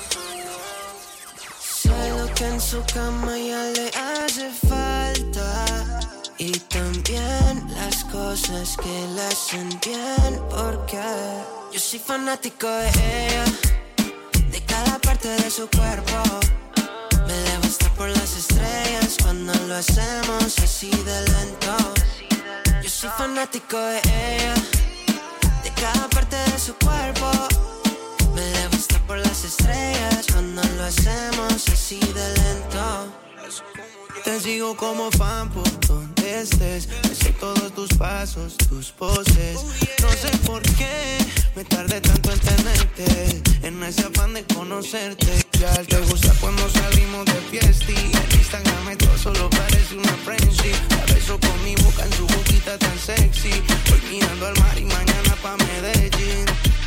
Sé lo que en su cama ya le hace falta. Y también las cosas que le hacen bien. Porque yo soy fanático de ella, de cada parte de su cuerpo. Me dejo estar por las estrellas cuando lo hacemos así de lento. Yo soy fanático de ella, de cada parte de su cuerpo. Me dejo estar por las estrellas cuando lo hacemos así de lento. Te sigo como fan por donde estés. Me sé todos tus pasos, tus poses. No sé por qué me tardé tanto en tenerte, en ese afán de conocerte. Ya te gusta cuando salimos de fiesta. En Instagram esto solo parece una friendship. La beso con mi boca en su boquita tan sexy. Voy mirando al mar y mañana pa' Medellín.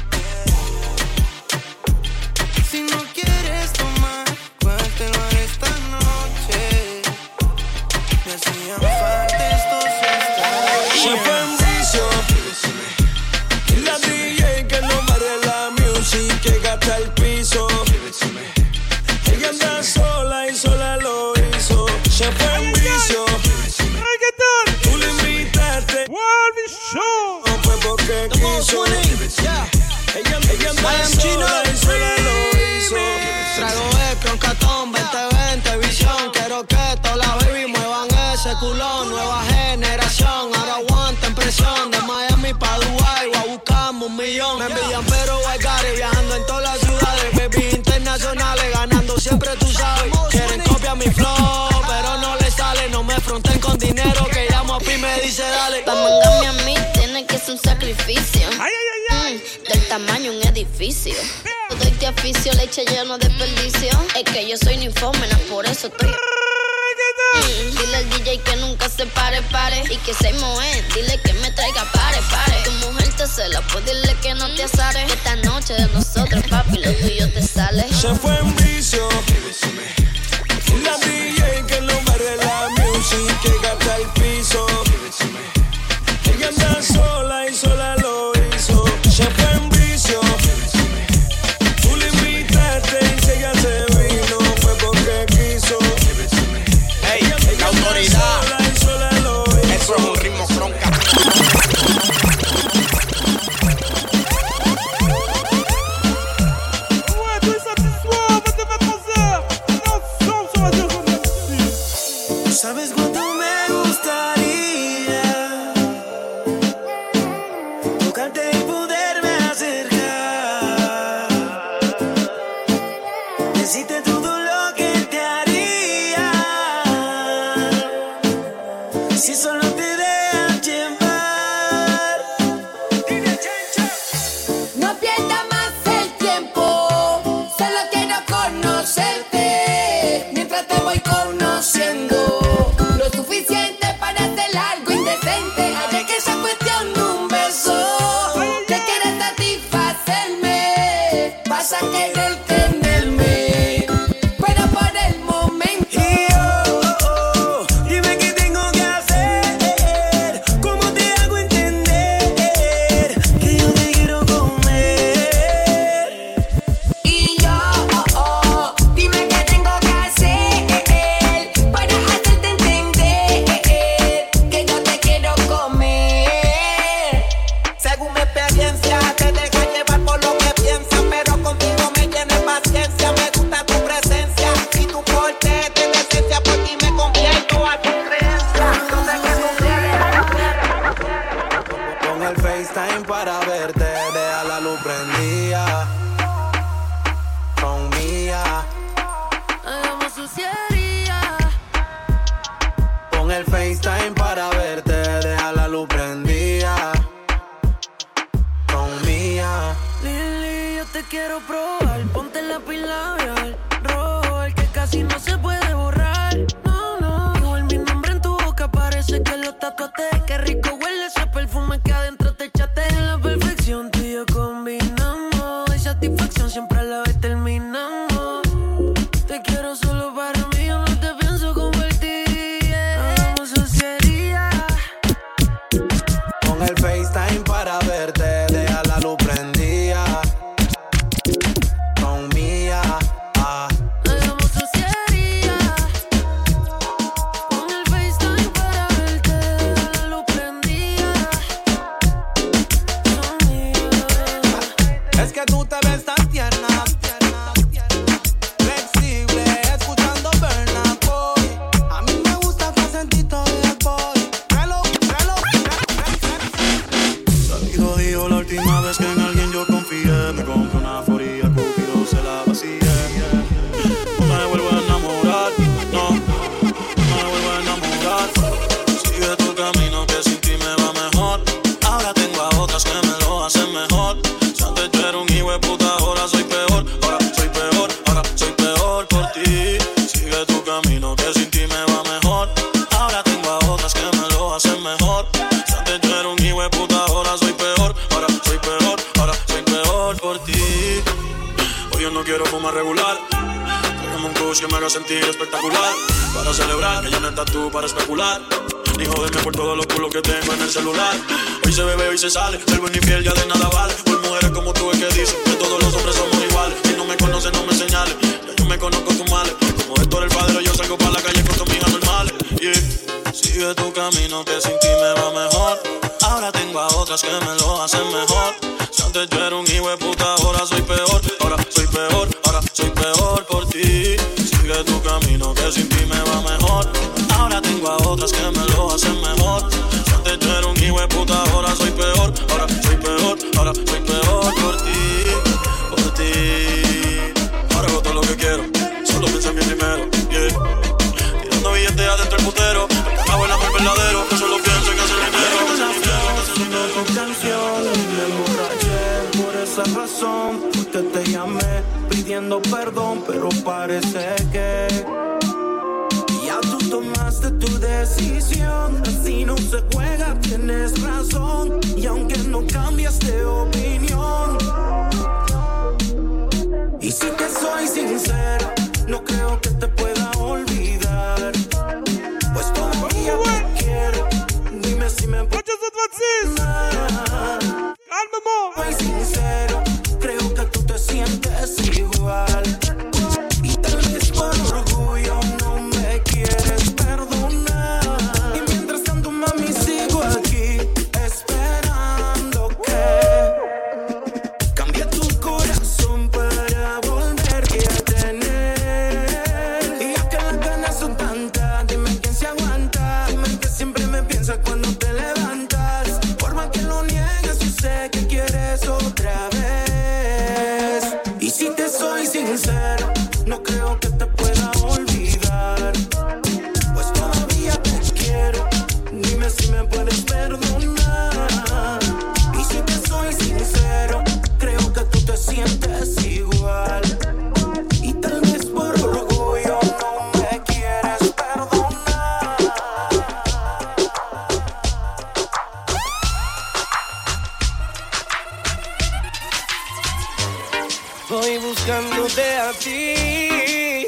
Si no quieres tomar, cuéntelo esta noche. Me hacían falta estos estados. Se fue en vicio. La DJ que no barre la music, que gasta el piso. Ella anda sola y sola lo hizo. Se fue en vicio. Tú le invitaste. Show. No fue porque quiso. Ella anda sola y sola lo hizo. Trago Ecron, Catón, 2020, visión. Quiero que todas las baby muevan ese culón. Nueva generación, ahora aguanten presión. De Miami pa' Dubai, voy a buscarme 1 millón. Me envían pero Guaycari, viajando en todas las ciudades. Baby internacionales, ganando siempre tú sabes. Quieren copiar mi flow, pero no le sale. No me fronten con dinero, que llamo a Pi me dice dale. Pa' mandarme a mí tiene que ser un sacrificio. Del tamaño un edificio. Todo este oficio, leche lleno de desperdicio. Es que yo soy ninfómena, por eso estoy. Dile al DJ que nunca se pare. Y que se moe, dile que me traiga pare. Tu mujer te cela, pues dile que no te azares. Esta noche de nosotros, papi, lo tuyo te sale. Se fue en vicio. La DJ que no barre la music, que gasta el piso. Ella anda sola y sola lo hizo. Se fue en vicio. Tú le invitaste y se gastó. hiciste todo lo que te haría. Si solo te dejas llevar. No pierdas más el tiempo, solo quiero conocerte. Mientras te voy conociendo, lo suficiente para hacer algo indecente. Haré que sea cuestión de un beso. Te quieres satisfacerme, vas a querer tenerme, pero por el momento. Dime qué tengo que hacer, cómo te hago entender que yo te quiero comer. Y yo, dime qué tengo que hacer para hacerte entender que yo te quiero comer. Según mi experiencia, te dejas llevar por lo que piensas, pero contigo me llena de paciencia. Me gusta tu presencia y tu porte de decencia, por ti me convierto a tu creencia. Yo sé que tú quieres. Con el FaceTime para verte, deja la luz prendida. Con mía. Hagamos suciería. Con el FaceTime para verte, deja la luz prendida. Con mía. Lili, yo te quiero probar. Ponte el lápiz labial rojo, el que casi no se puede borrar. No, no. Igual mi nombre en tu boca parece que lo tatuaste. Qué rico huele ese perfume que adentro te echaste. En la perfección tú y yo combinamos. Hay satisfacción siempre a la vez terminamos. Te quiero solo para mí, yo no te pienso convertir. Hagamos suciería. Con el FaceTime para verte, deja la luz prendida. Con mía. Hagamos suciería. Con el FaceTime para verte, deja la luz prendida. Es que tú te ves tan tierna, flexible, escuchando Burna Boy. A mí me gusta tu acentito de boy. Dijo la última vez que en alguien yo confié. Me compré una foría, Cupido se la vacié. No me vuelvo a enamorar, no me vuelvo a enamorar. Sigue tu camino que sin ti me va mejor. Ahora tengo a otras que me lo hacen mejor. Si antes yo era un hijo de puta, ahora soy peor. Ahora soy peor, ahora soy peor por ti. Sigue tu camino que sin ti me va mejor. Ahora tengo a otras que me lo hacen mejor. Si antes yo era un hijo de puta, ahora soy peor. Ahora soy peor, ahora soy peor por ti. Hoy yo no quiero fumar regular. Tráigame un kush que me haga sentir espectacular. Para celebrar que ya no estás tú para especular. Ni joderme por todos los culos que tengo en el celular. Hoy se bebe, hoy se sale. Ser buen infiel ya de nada vale. Por mujeres como tú es que dicen que todos los hombres somos iguales. Si no me conoces, no me señales. Ya yo me conozco tus males. Como Héctor el padre, yo salgo para la calle con tus amigas normales. Yeah. Sigue tu camino que sin ti me va mejor. Ahora tengo a otras que me lo hacen mejor. Si antes yo era un hijo de puta, ahora soy peor. Ahora soy peor, ahora soy peor por ti. Sigue tu camino que sin ti me va mejor. Ahora tengo a otras que me lo hacen mejor. Si antes yo era un hijo de puta, ahora soy peor. Ahora soy peor, ahora soy peor por ti. Por ti. Ahora hago todo lo que quiero. Solo pienso en mí primero. Yeah. Tirando billetes adentro el putero. Acabo el amor verdadero. Yo solo pienso en hacer dinero. Haciendo tu canción, me emborraché por esa razón. Fue que te llamé pidiendo perdón, pero parece que ya tú tomaste tu decisión. Así no se juega, tienes razón. Y aunque no cambias de opinión, y si te soy sincero, no creo que te pueda olvidar. Pues todavía te quiero. Dime si me puedes. Calmement. Soy sincero, creo que tú te sientes igual. Y tal vez por orgullo no me quieres perdonar. Y mientras tanto, mami, sigo aquí esperando que cambie tu corazón para volverte a tener. Y ya que las ganas son tantas, dime quién se aguanta. Dime que siempre me piensas cuando te levantas. Por más que lo niegues, yo sé que quieres otra vez. Y si te soy sincero, no voy buscándote a ti.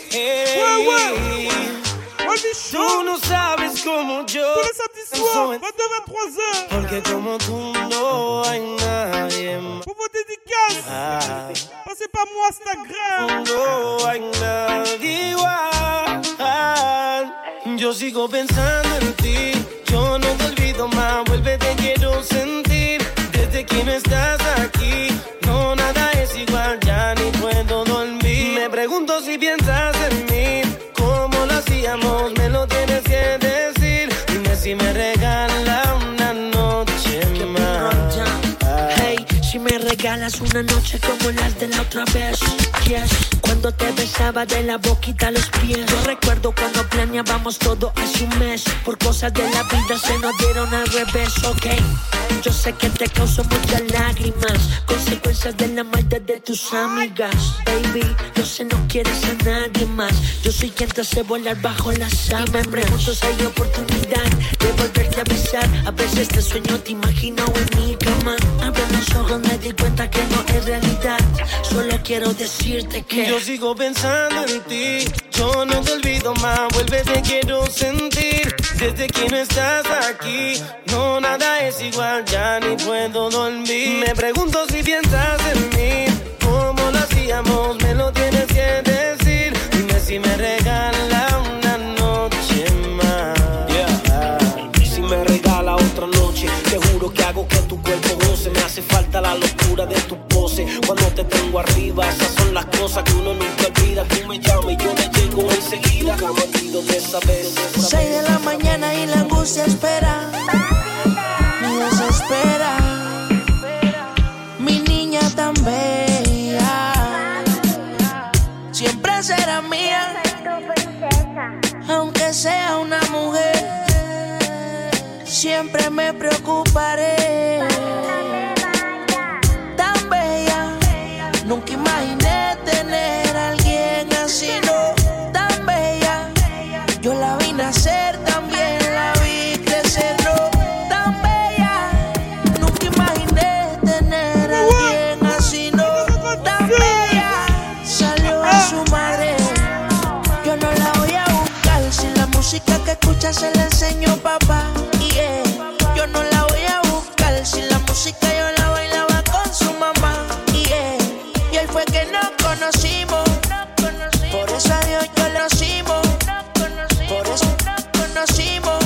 Tú no sabes como yo. Tous les samedis soirs, 22-23h. Porque como tú no hay nadie más. Pour vos dédicaces, passez par mon Instagram. No hay nadie igual. Yo sigo pensando en ti. Yo no te olvido más. Vuelve, te quiero sentir. Desde que no estás aquí, no, nada es igual. Ya ni puedo dormir. Me pregunto si piensas en mí. ¿Cómo lo hacíamos? Me lo tienes que decir. Dime si me regala una noche más. Hey, si me regalas una noche como las de la otra vez. Yes, cuando te besaba de la boquita a los pies. Yo recuerdo cuando planeábamos todo hace un mes. Por cosas de la vida se nos dieron al revés, ok. Yo sé que te causó muchas lágrimas, consecuencias de la maldad de tus amigas. Baby, yo sé no quieres a nadie más. Yo soy quien te hace volar bajo las sábanas. Y me pregunto si hay oportunidad de volverte a besar. A veces te sueño, te imagino en mi cama. Abre los ojos, me di cuenta que no es realidad. Solo quiero decirte que yo sigo pensando en ti. Yo no te olvido más. Vuelve, te quiero sentir. Desde que no estás aquí, no, nada es igual. Ya ni puedo dormir. Me pregunto si piensas en mí. ¿Cómo lo hacíamos? Me lo tienes que decir. Dime si me regala una noche más. Si me regala otra noche, te juro que hago que tu cuerpo goce. Me hace falta la locura de tu pose. Cuando te tengo arriba, esas son las cosas que uno nunca olvida. Tú me llamas y yo le llego enseguida. Camatido de saber. 6 de la mañana y la angustia espera. Me desespera. Mi niña tan bella siempre será mía, aunque sea una mujer. Siempre me preocuparé. Tan bella, nunca imaginé tener a alguien así, no. Tan bella, yo la vi nacer, también la vi crecer, no. Tan bella, nunca imaginé tener a alguien así, no. Tan bella, salió a su madre. Yo no la voy a buscar, si la música que escucha se la enseñó papá. Yo no la voy a buscar, si la música yo la bailaba con su mamá. Y él fue que nos conocimos. Por eso a Dios yo lo conocimos. Por eso nos conocimos.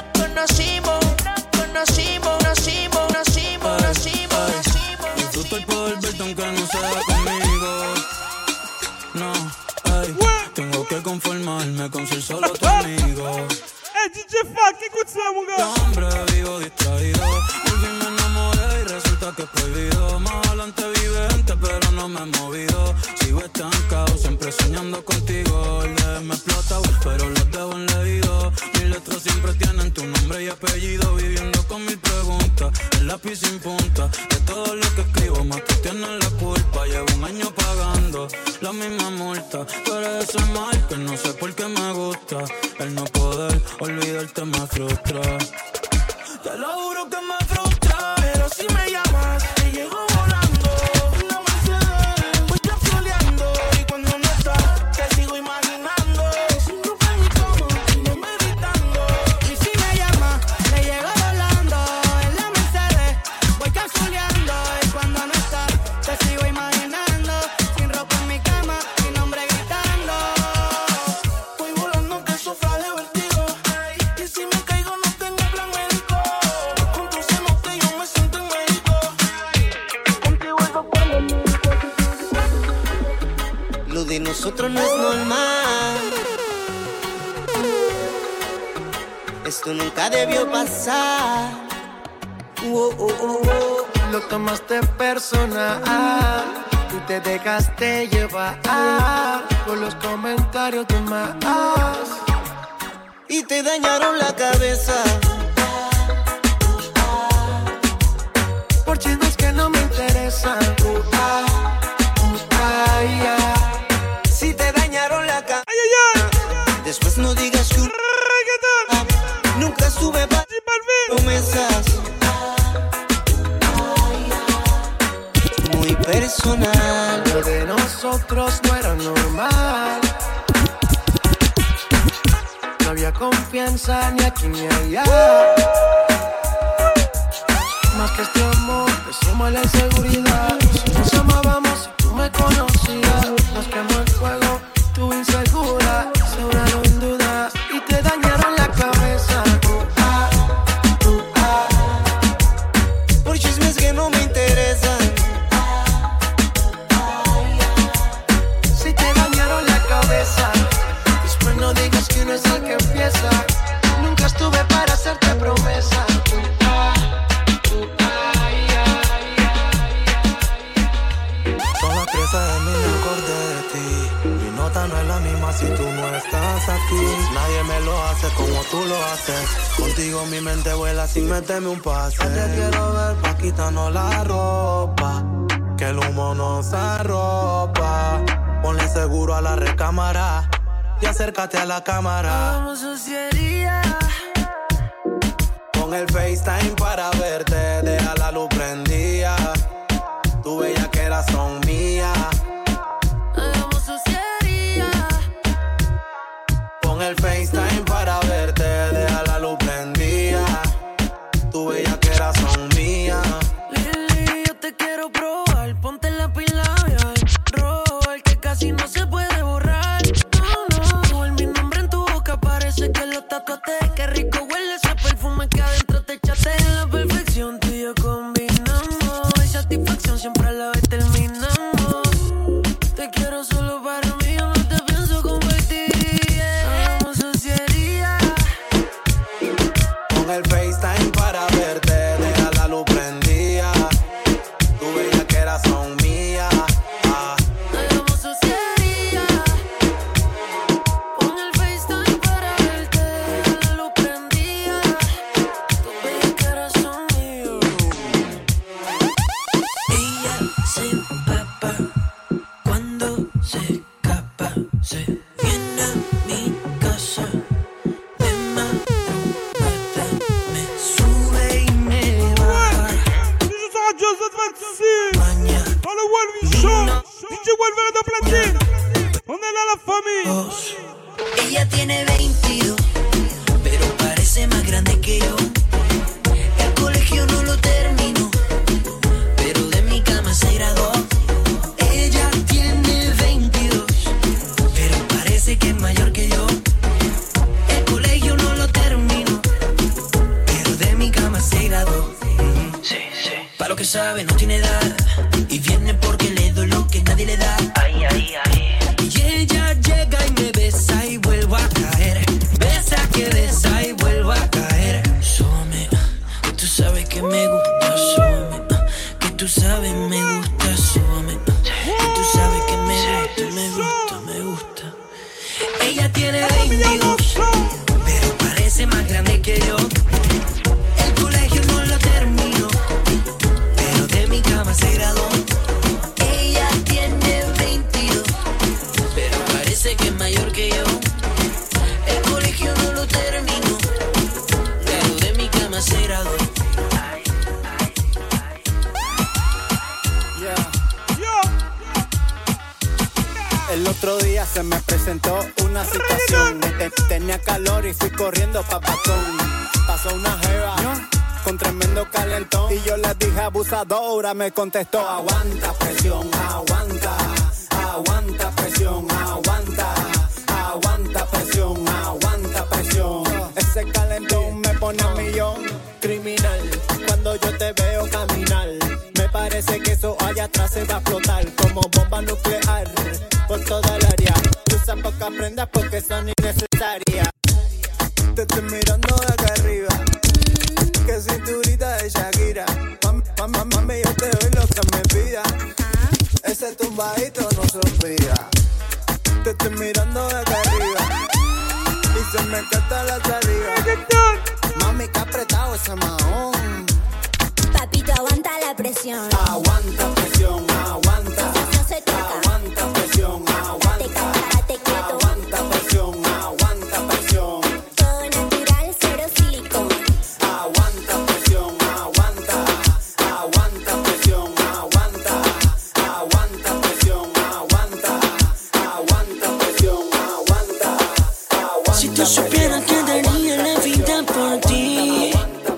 Disfruto el poder verte aunque no sea conmigo. No, ay, tengo que conformarme con ser solo tu amigo. DJ Fuck, écoute ça, mon gars. Hombre, vivo distraído. Al fin me enamoré y resulta que es prohibido. Más adelante vive gente, pero no me he movido. Sigo estancado, siempre soñando contigo. El de me explota, pero los dejo en leído. Mis letras siempre tienen tu nombre y apellido. Viviendo con mil preguntas, el lápiz sin punta. De todo lo que escribo, más tú tienes la culpa. Llevo un año pagando la misma multa. Tú eres ese mal que no sé por qué me gusta. El no poder olvidarte me frustra. Te lo juro que me frustra. Pero si me llamas, te llego volando. Una Mercedes, voy capsuleando. Y cuando no estás, te sigo imaginando. Sin ropa en mi cama, no meditando. Y si me llamas, te llego volando. En la Mercedes, voy capsuleando. Y cuando no estás, te sigo imaginando. Sin ropa en mi cama, mi nombre gritando. Voy volando que sufra de vertigo. Y si me caigo no tengo plan médico. Con tu cenote yo me siento en médico. Contigo es por lo médico. Lo de nosotros no es normal. Esto nunca debió pasar. Lo tomaste personal. Tú te dejaste llevar por los comentarios de más. Y te dañaron la cabeza. Por chismes que no me interesan. Si te dañaron la cabeza. Después no digas que un nunca estuve para promesas. Muy personal. Lo de nosotros nosotros no era normal. No había confianza ni aquí ni allá. Más que este amor, le suma la inseguridad. Si nos amábamos, si tú me conocías, nos quemó el fuego, tú insegura, sobraron en duda y te dañaron la cabeza. Por chismes que no me interesan. Si te dañaron la cabeza, después no digas que no es el que empieza. Nunca estuve para hacerte promesa. No es la misma si tú no estás aquí. Nadie me lo hace como tú lo haces. Contigo mi mente vuela sin meterme un pase. Te quiero ver pa' quitarnos la ropa, que el humo nos arropa. Ponle seguro a la recámara y acércate a la cámara. Hagamos sociedad. Pon el FaceTime para verte, deja la luz prendida. Tu bellaquera son mías. Pon el FaceTime para verte, deja la luz prendida. Tu bellaquera son mías. Lili, yo te quiero probar. Ponte la pila labial rojo, el que casi no se puede borrar. No, el mi nombre en tu boca parece que lo tatuaste. Qué rico huele ese perfume que adentro te echaste. En la perfección tú y yo combinamos. Y satisfacción siempre a la vez terminamos. Te quiero solo para mí, yo no te pienso convertir. El FaceTime para verte, deja la luz prendida. Tu bellaquera son mías. Hagamos sociedad. Pon el FaceTime para verte, deja la luz prendida. Tu bellaquera son mías. Ella se empapa cuando se escapa. Se viene a mi casa. Dans le Wolverine Show, DJ Wolverine de platine. On est là la famille. Ella tiene 22, pero parece más grande que yo. El colegio no lo terminó, pero de mi cama se graduó. Ella tiene 22, pero parece que es mayor que yo. El colegio no lo terminó, pero de mi cama se graduó. Sí, sí. Pa' lo que sabe no tiene edad, y viene porque le doy lo que nadie le da. Ay, ay, ay. Y ella llega y me besa y vuelvo a caer. Besa que besa y vuelvo a caer. Súbeme, que tú sabes que me gusta. Súbeme, que tú sabes me gusta. Súbeme, que tú sabes que me gusta, me gusta, me gusta. Ella tiene 22, pero parece más grande que yo. El colegio no lo terminó, pero de mi cama se graduó. Ella tiene 22, pero parece que es mayor que yo. El colegio no lo terminó, pero de mi cama se graduó. El otro día se me presentó una situación. Tenía calor y fui corriendo pa' Patón. Pasó una jeva con tremendo calentón y yo le dije abusadora, me contestó: aguanta presión, aguanta, aguanta presión, aguanta, aguanta presión, aguanta presión. Ese calentón me pone a millón, criminal. Cuando yo te veo caminar, me parece que eso allá atrás se va a explotar como bomba nuclear por toda el área. Usa pocas prendas porque son innecesarias. Te estoy mirando de acá arriba, que cinturita de Shakira. Mami, yo te doy lo que me pida. Ese tumbadito no se olvida. Te estoy mirando de acá arriba y se me encanta la saliva. Mami, que apretado ese mahón. Papito, aguanta la presión. Aguanta presión, aguanta. No se toca. Aguanta presión, aguanta. Te quieto. Aguanta presión, aguanta presión. Todo natural, cero silicón. Aguanta presión, aguanta. Aguanta presión, aguanta. Aguanta presión, aguanta. Si tú supieras que daría la vida por ti.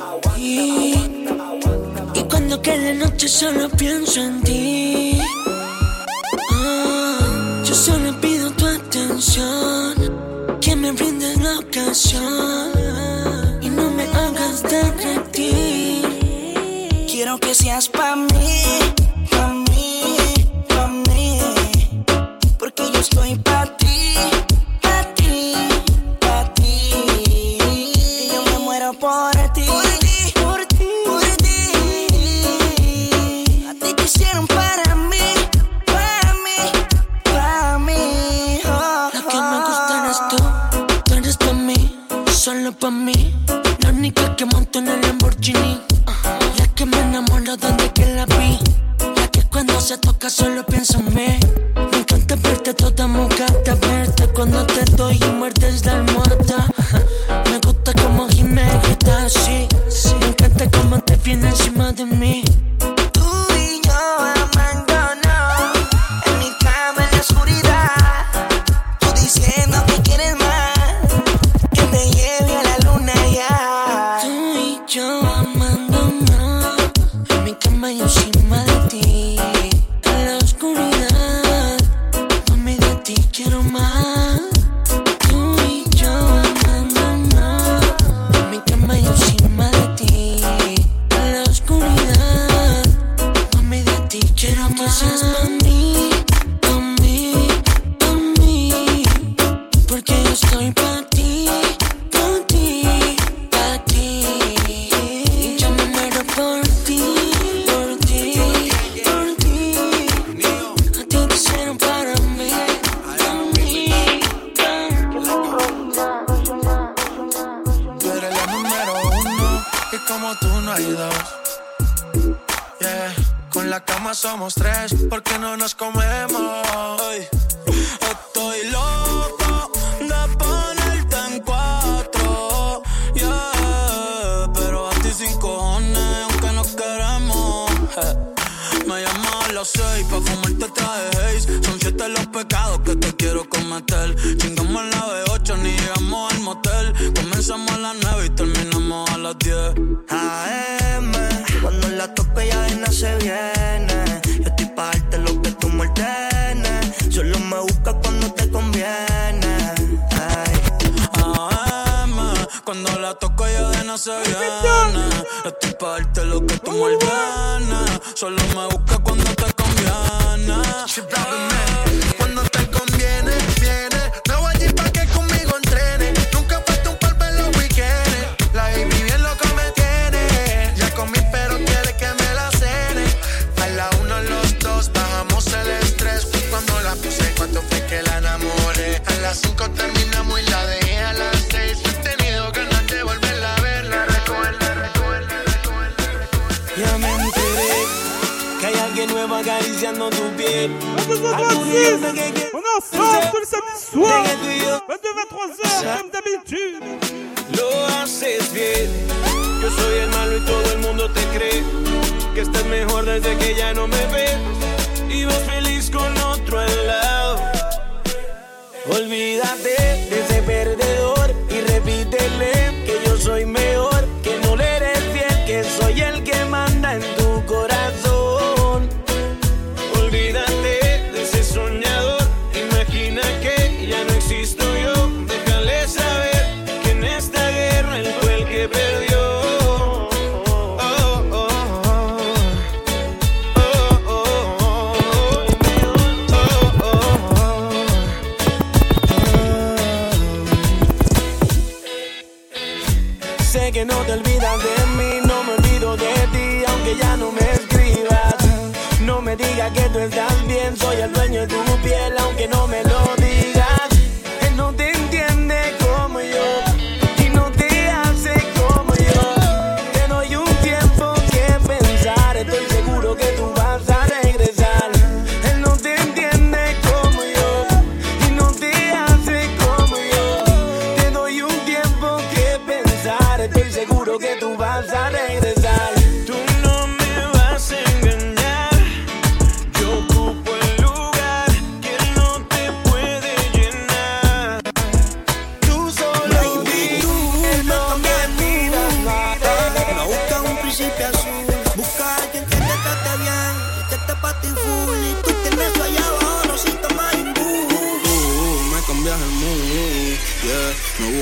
Y cuando quede noche solo pienso en ti. Yo solo pido tu atención, que me brindes la ocasión y no me hagas derretir. Quiero que seas pa' mí, pa' mí, pa' mí, porque yo estoy pa' ti, pa' ti, pa' ti. Y yo me muero por ti, por ti, por ti. A ti te hicieron para mí, para mí, para mí. Oh, Lo que me gusta eres tú eres pa' mí, solo pa' mí. La única que monto en el Lamborghini, la que me enamoro desde que la vi, la que cuando se toca solo pienso en mí. Me encanta verte toda mojada, verte cuando te doy y muerdes la almohada. Me gusta como gimes, así. Me encanta como te viene encima de mí. tú y yo amándonos en mi cama en la oscuridad. Tú diciendo que quieres más, que te lleve a la luna ya. Tú y yo amándonos en mi cama y encima de ti. En la oscuridad, mami, de ti quiero más. Tú y yo amándonos en mi cama y encima de ti. En la oscuridad, mami, de ti quiero más. Que seas pa' mí, pa' mí, pa' mí, porque yo estoy pa' ti, pa' ti, pa' ti. Y yo me muero por ti, por ti, por ti. A ti te hicieron para mí, pa' mí, Tú eres la número uno y como tú no hay dos. Yeah. Con la cama somos tres, porque no nos comemos. Ay, estoy loco de ponerte en 4, yeah, pero a ti sin cojones, aunque nos queremos. Me llamas a las 6 pa' fumarte traje Haze. Son 7 los pecados que te quiero cometer. Chingamos a la B8, ni llegamos al motel. Comenzamos a las 9 y terminamos a las 10. AM, cuando la toco ya de nada se viene. Yo estoy pa' darte lo que tú me ordenes. Solo me buscas cuando te conviene. Ay. AM, cuando la toco ya de nada se viene. Estoy pa' darte lo que tú me ordenes. Solo me busca cuando te conviene. Cuando te conviene, viene. Me voy allí pa' que conmigo entrene. Nunca falta un polvo en los weekends. La baby bien loca me tiene. Ya comí pero quiere que me la cene. A la 1 los dos bajamos el estrés. Fue cuando la puse, cuando fue que la enamoré. A las 5 terminamos y la dejé a las 6. He tenido ganas de volverla a ver. La recuerda. Ya me enteré que hay alguien nuevo acariciando tu piel. On est ensemble tous les samedis soirs, 22-23h, comme d'habitude. Lo haces bien. Yo soy el malo y todo el mundo te cree que estás mejor desde que ya no me ves y vas feliz con otro al lado. Olvídate de ese perdedor y repítele que yo soy mejor, que no le eres fiel, que soy el que manda en tu corazón. Olvídate de ese soñador, imagina que ya no existo yo. Déjale saber que en esta guerra él fue el que perdió. Sé que no te olvidas de mí, no me olvido de ti, aunque ya no me escribas. No me digas que tú estás bien, soy el dueño de tu piel, aunque no me lo digas. Él no te entiende como yo y no te hace como yo. Te doy un tiempo que pensar, estoy seguro que tú vas a regresar. Él no te entiende como yo y no te hace como yo. Te doy un tiempo que pensar, estoy seguro que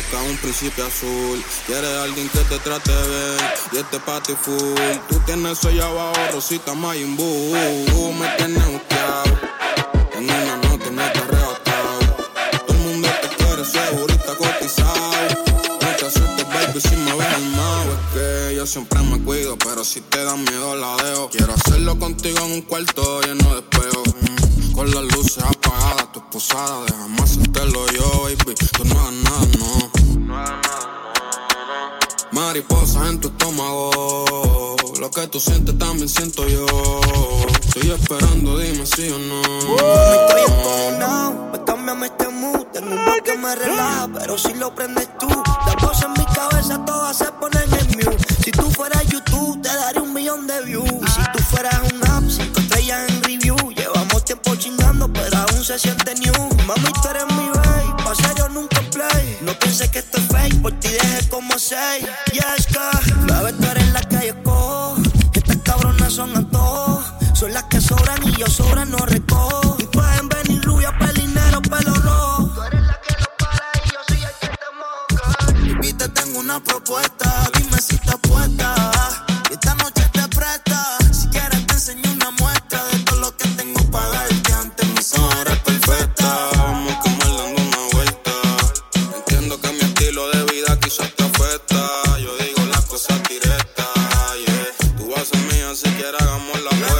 buscas un príncipe azul. Quieres alguien que te trate bien y este party full. Tú tienes eso allá abajo, Rosita Majin Buu. Me tienes buscado, en una noche me te arrebatado. Todo el mundo te quiere, segurita cotizado. Nunca asustes, baby, si me ves armado. Es que yo siempre me cuido, pero si te da miedo la dejo. Quiero hacerlo contigo en un cuarto lleno de espejo. Con las luces apagadas, tu esposada, déjame hacértelo yo, baby. Tú no hagas nada, no. Mariposas en tu estómago, lo que tú sientes también siento yo. Estoy esperando, dime sí o no. Me estoy encojonado, pues cámbiame este mood. Tengo un bloque que me relaja, pero si lo prendes tú. Las voces en mi cabeza todas se ponen en mute. Si tú fueras YouTube, te daría 1 millón de views. Y si tú fueras un app, 5 estrellas en review. Llevamos tiempo chingando, pero aún se siente new. Mami, tú eres mi babe, pa' serio nunca play. No pienses que esto es fake, por ti dejé como 6. Y es que, bebé, tú eres la que yo escojo. Estas cabronas son a todos. Son las que sobran y yo sobran no recojo. Y pueden venir rubia, pelinero, pelo rojo. Tú eres la que no para y yo soy el que te moja. Baby, te tengo una propuesta, dime si estás puesta. Y esta noche te presta. Si quieres te enseño una muestra de todo lo que tengo para darte. Antes mi zona era perfecta. Vamos a comer dando una vuelta. Entiendo que mi estilo de vida quizás te afecta. Yo digo las cosas directas, yeah. Tú vas a ser mía si quieres hagamos la vuelta.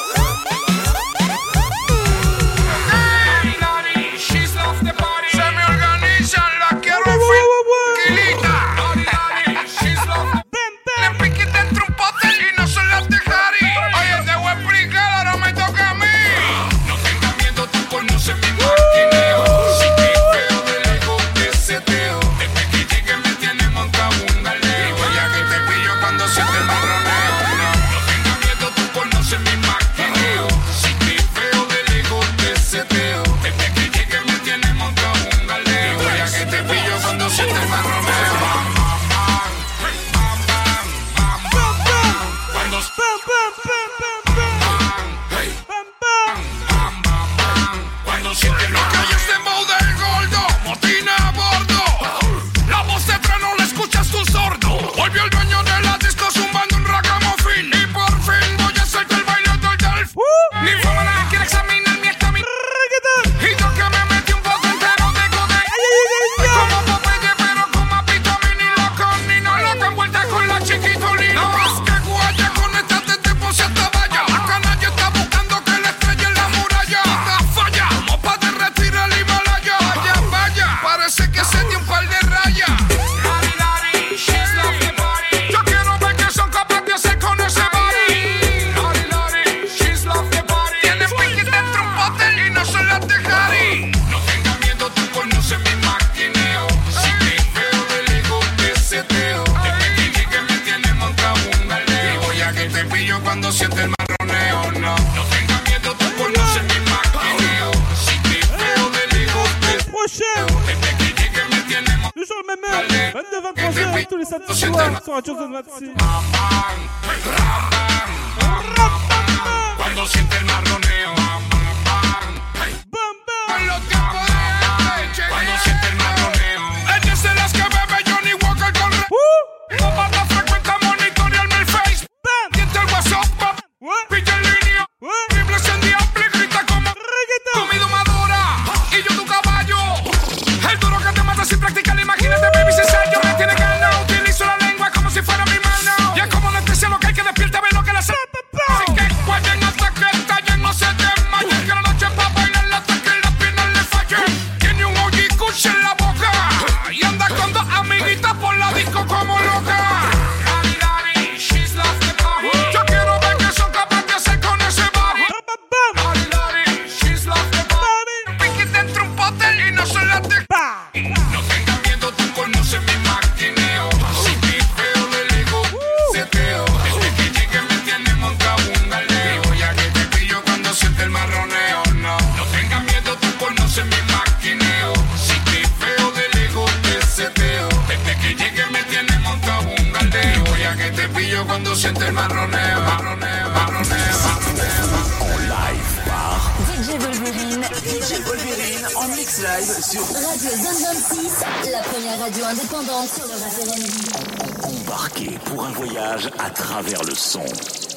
Cuando siente el marroneo, cuando siente el marroneo, ella es de las que bebe Johnny Walker con no para frecuenta monitorearme el face. Diente el WhatsApp, pilla en línea, triples en diable, grita como comida madura. Y yo tu caballo, el duro que te mata sin practicar. Imagínate, baby, si ensayo me tiene ganado. Utilizo la lengua como si fuera mi mano. Y es como anestesia lo que hay que despierta, ve lo que la hace. Así que guayen hasta que estallen, no se desmayen. Que la noche pa' bailar hasta que las piernas le fallen. Tiene un OG Kush en la boca y anda con 2 amiguitas por la disco como loca. Yo quiero ver qué son capaces de hacer con ese body. She's lost the body. Piqui dentro un pote y no se la de. No tengas miedo, tú conoces mi maquineo. Si te feo le digo, seteo. Desde que llegue me tiene montado un galeo. Ya que te pillo cuando siente el marroneo. No, no tengas miedo, tú conoces mi maquineo. Si te feo le digo, te seteo. Desde que llegue me tiene montado un galeo. Ya que te pillo cuando siente el marroneo. Marroneo, marroneo, marroneo. En live par DJ Wolverine. DJ Wolverine en mix mix live sur Radio Zone 26, la première radio indépendante sur le rap R&B. Embarquez pour un voyage à travers le son.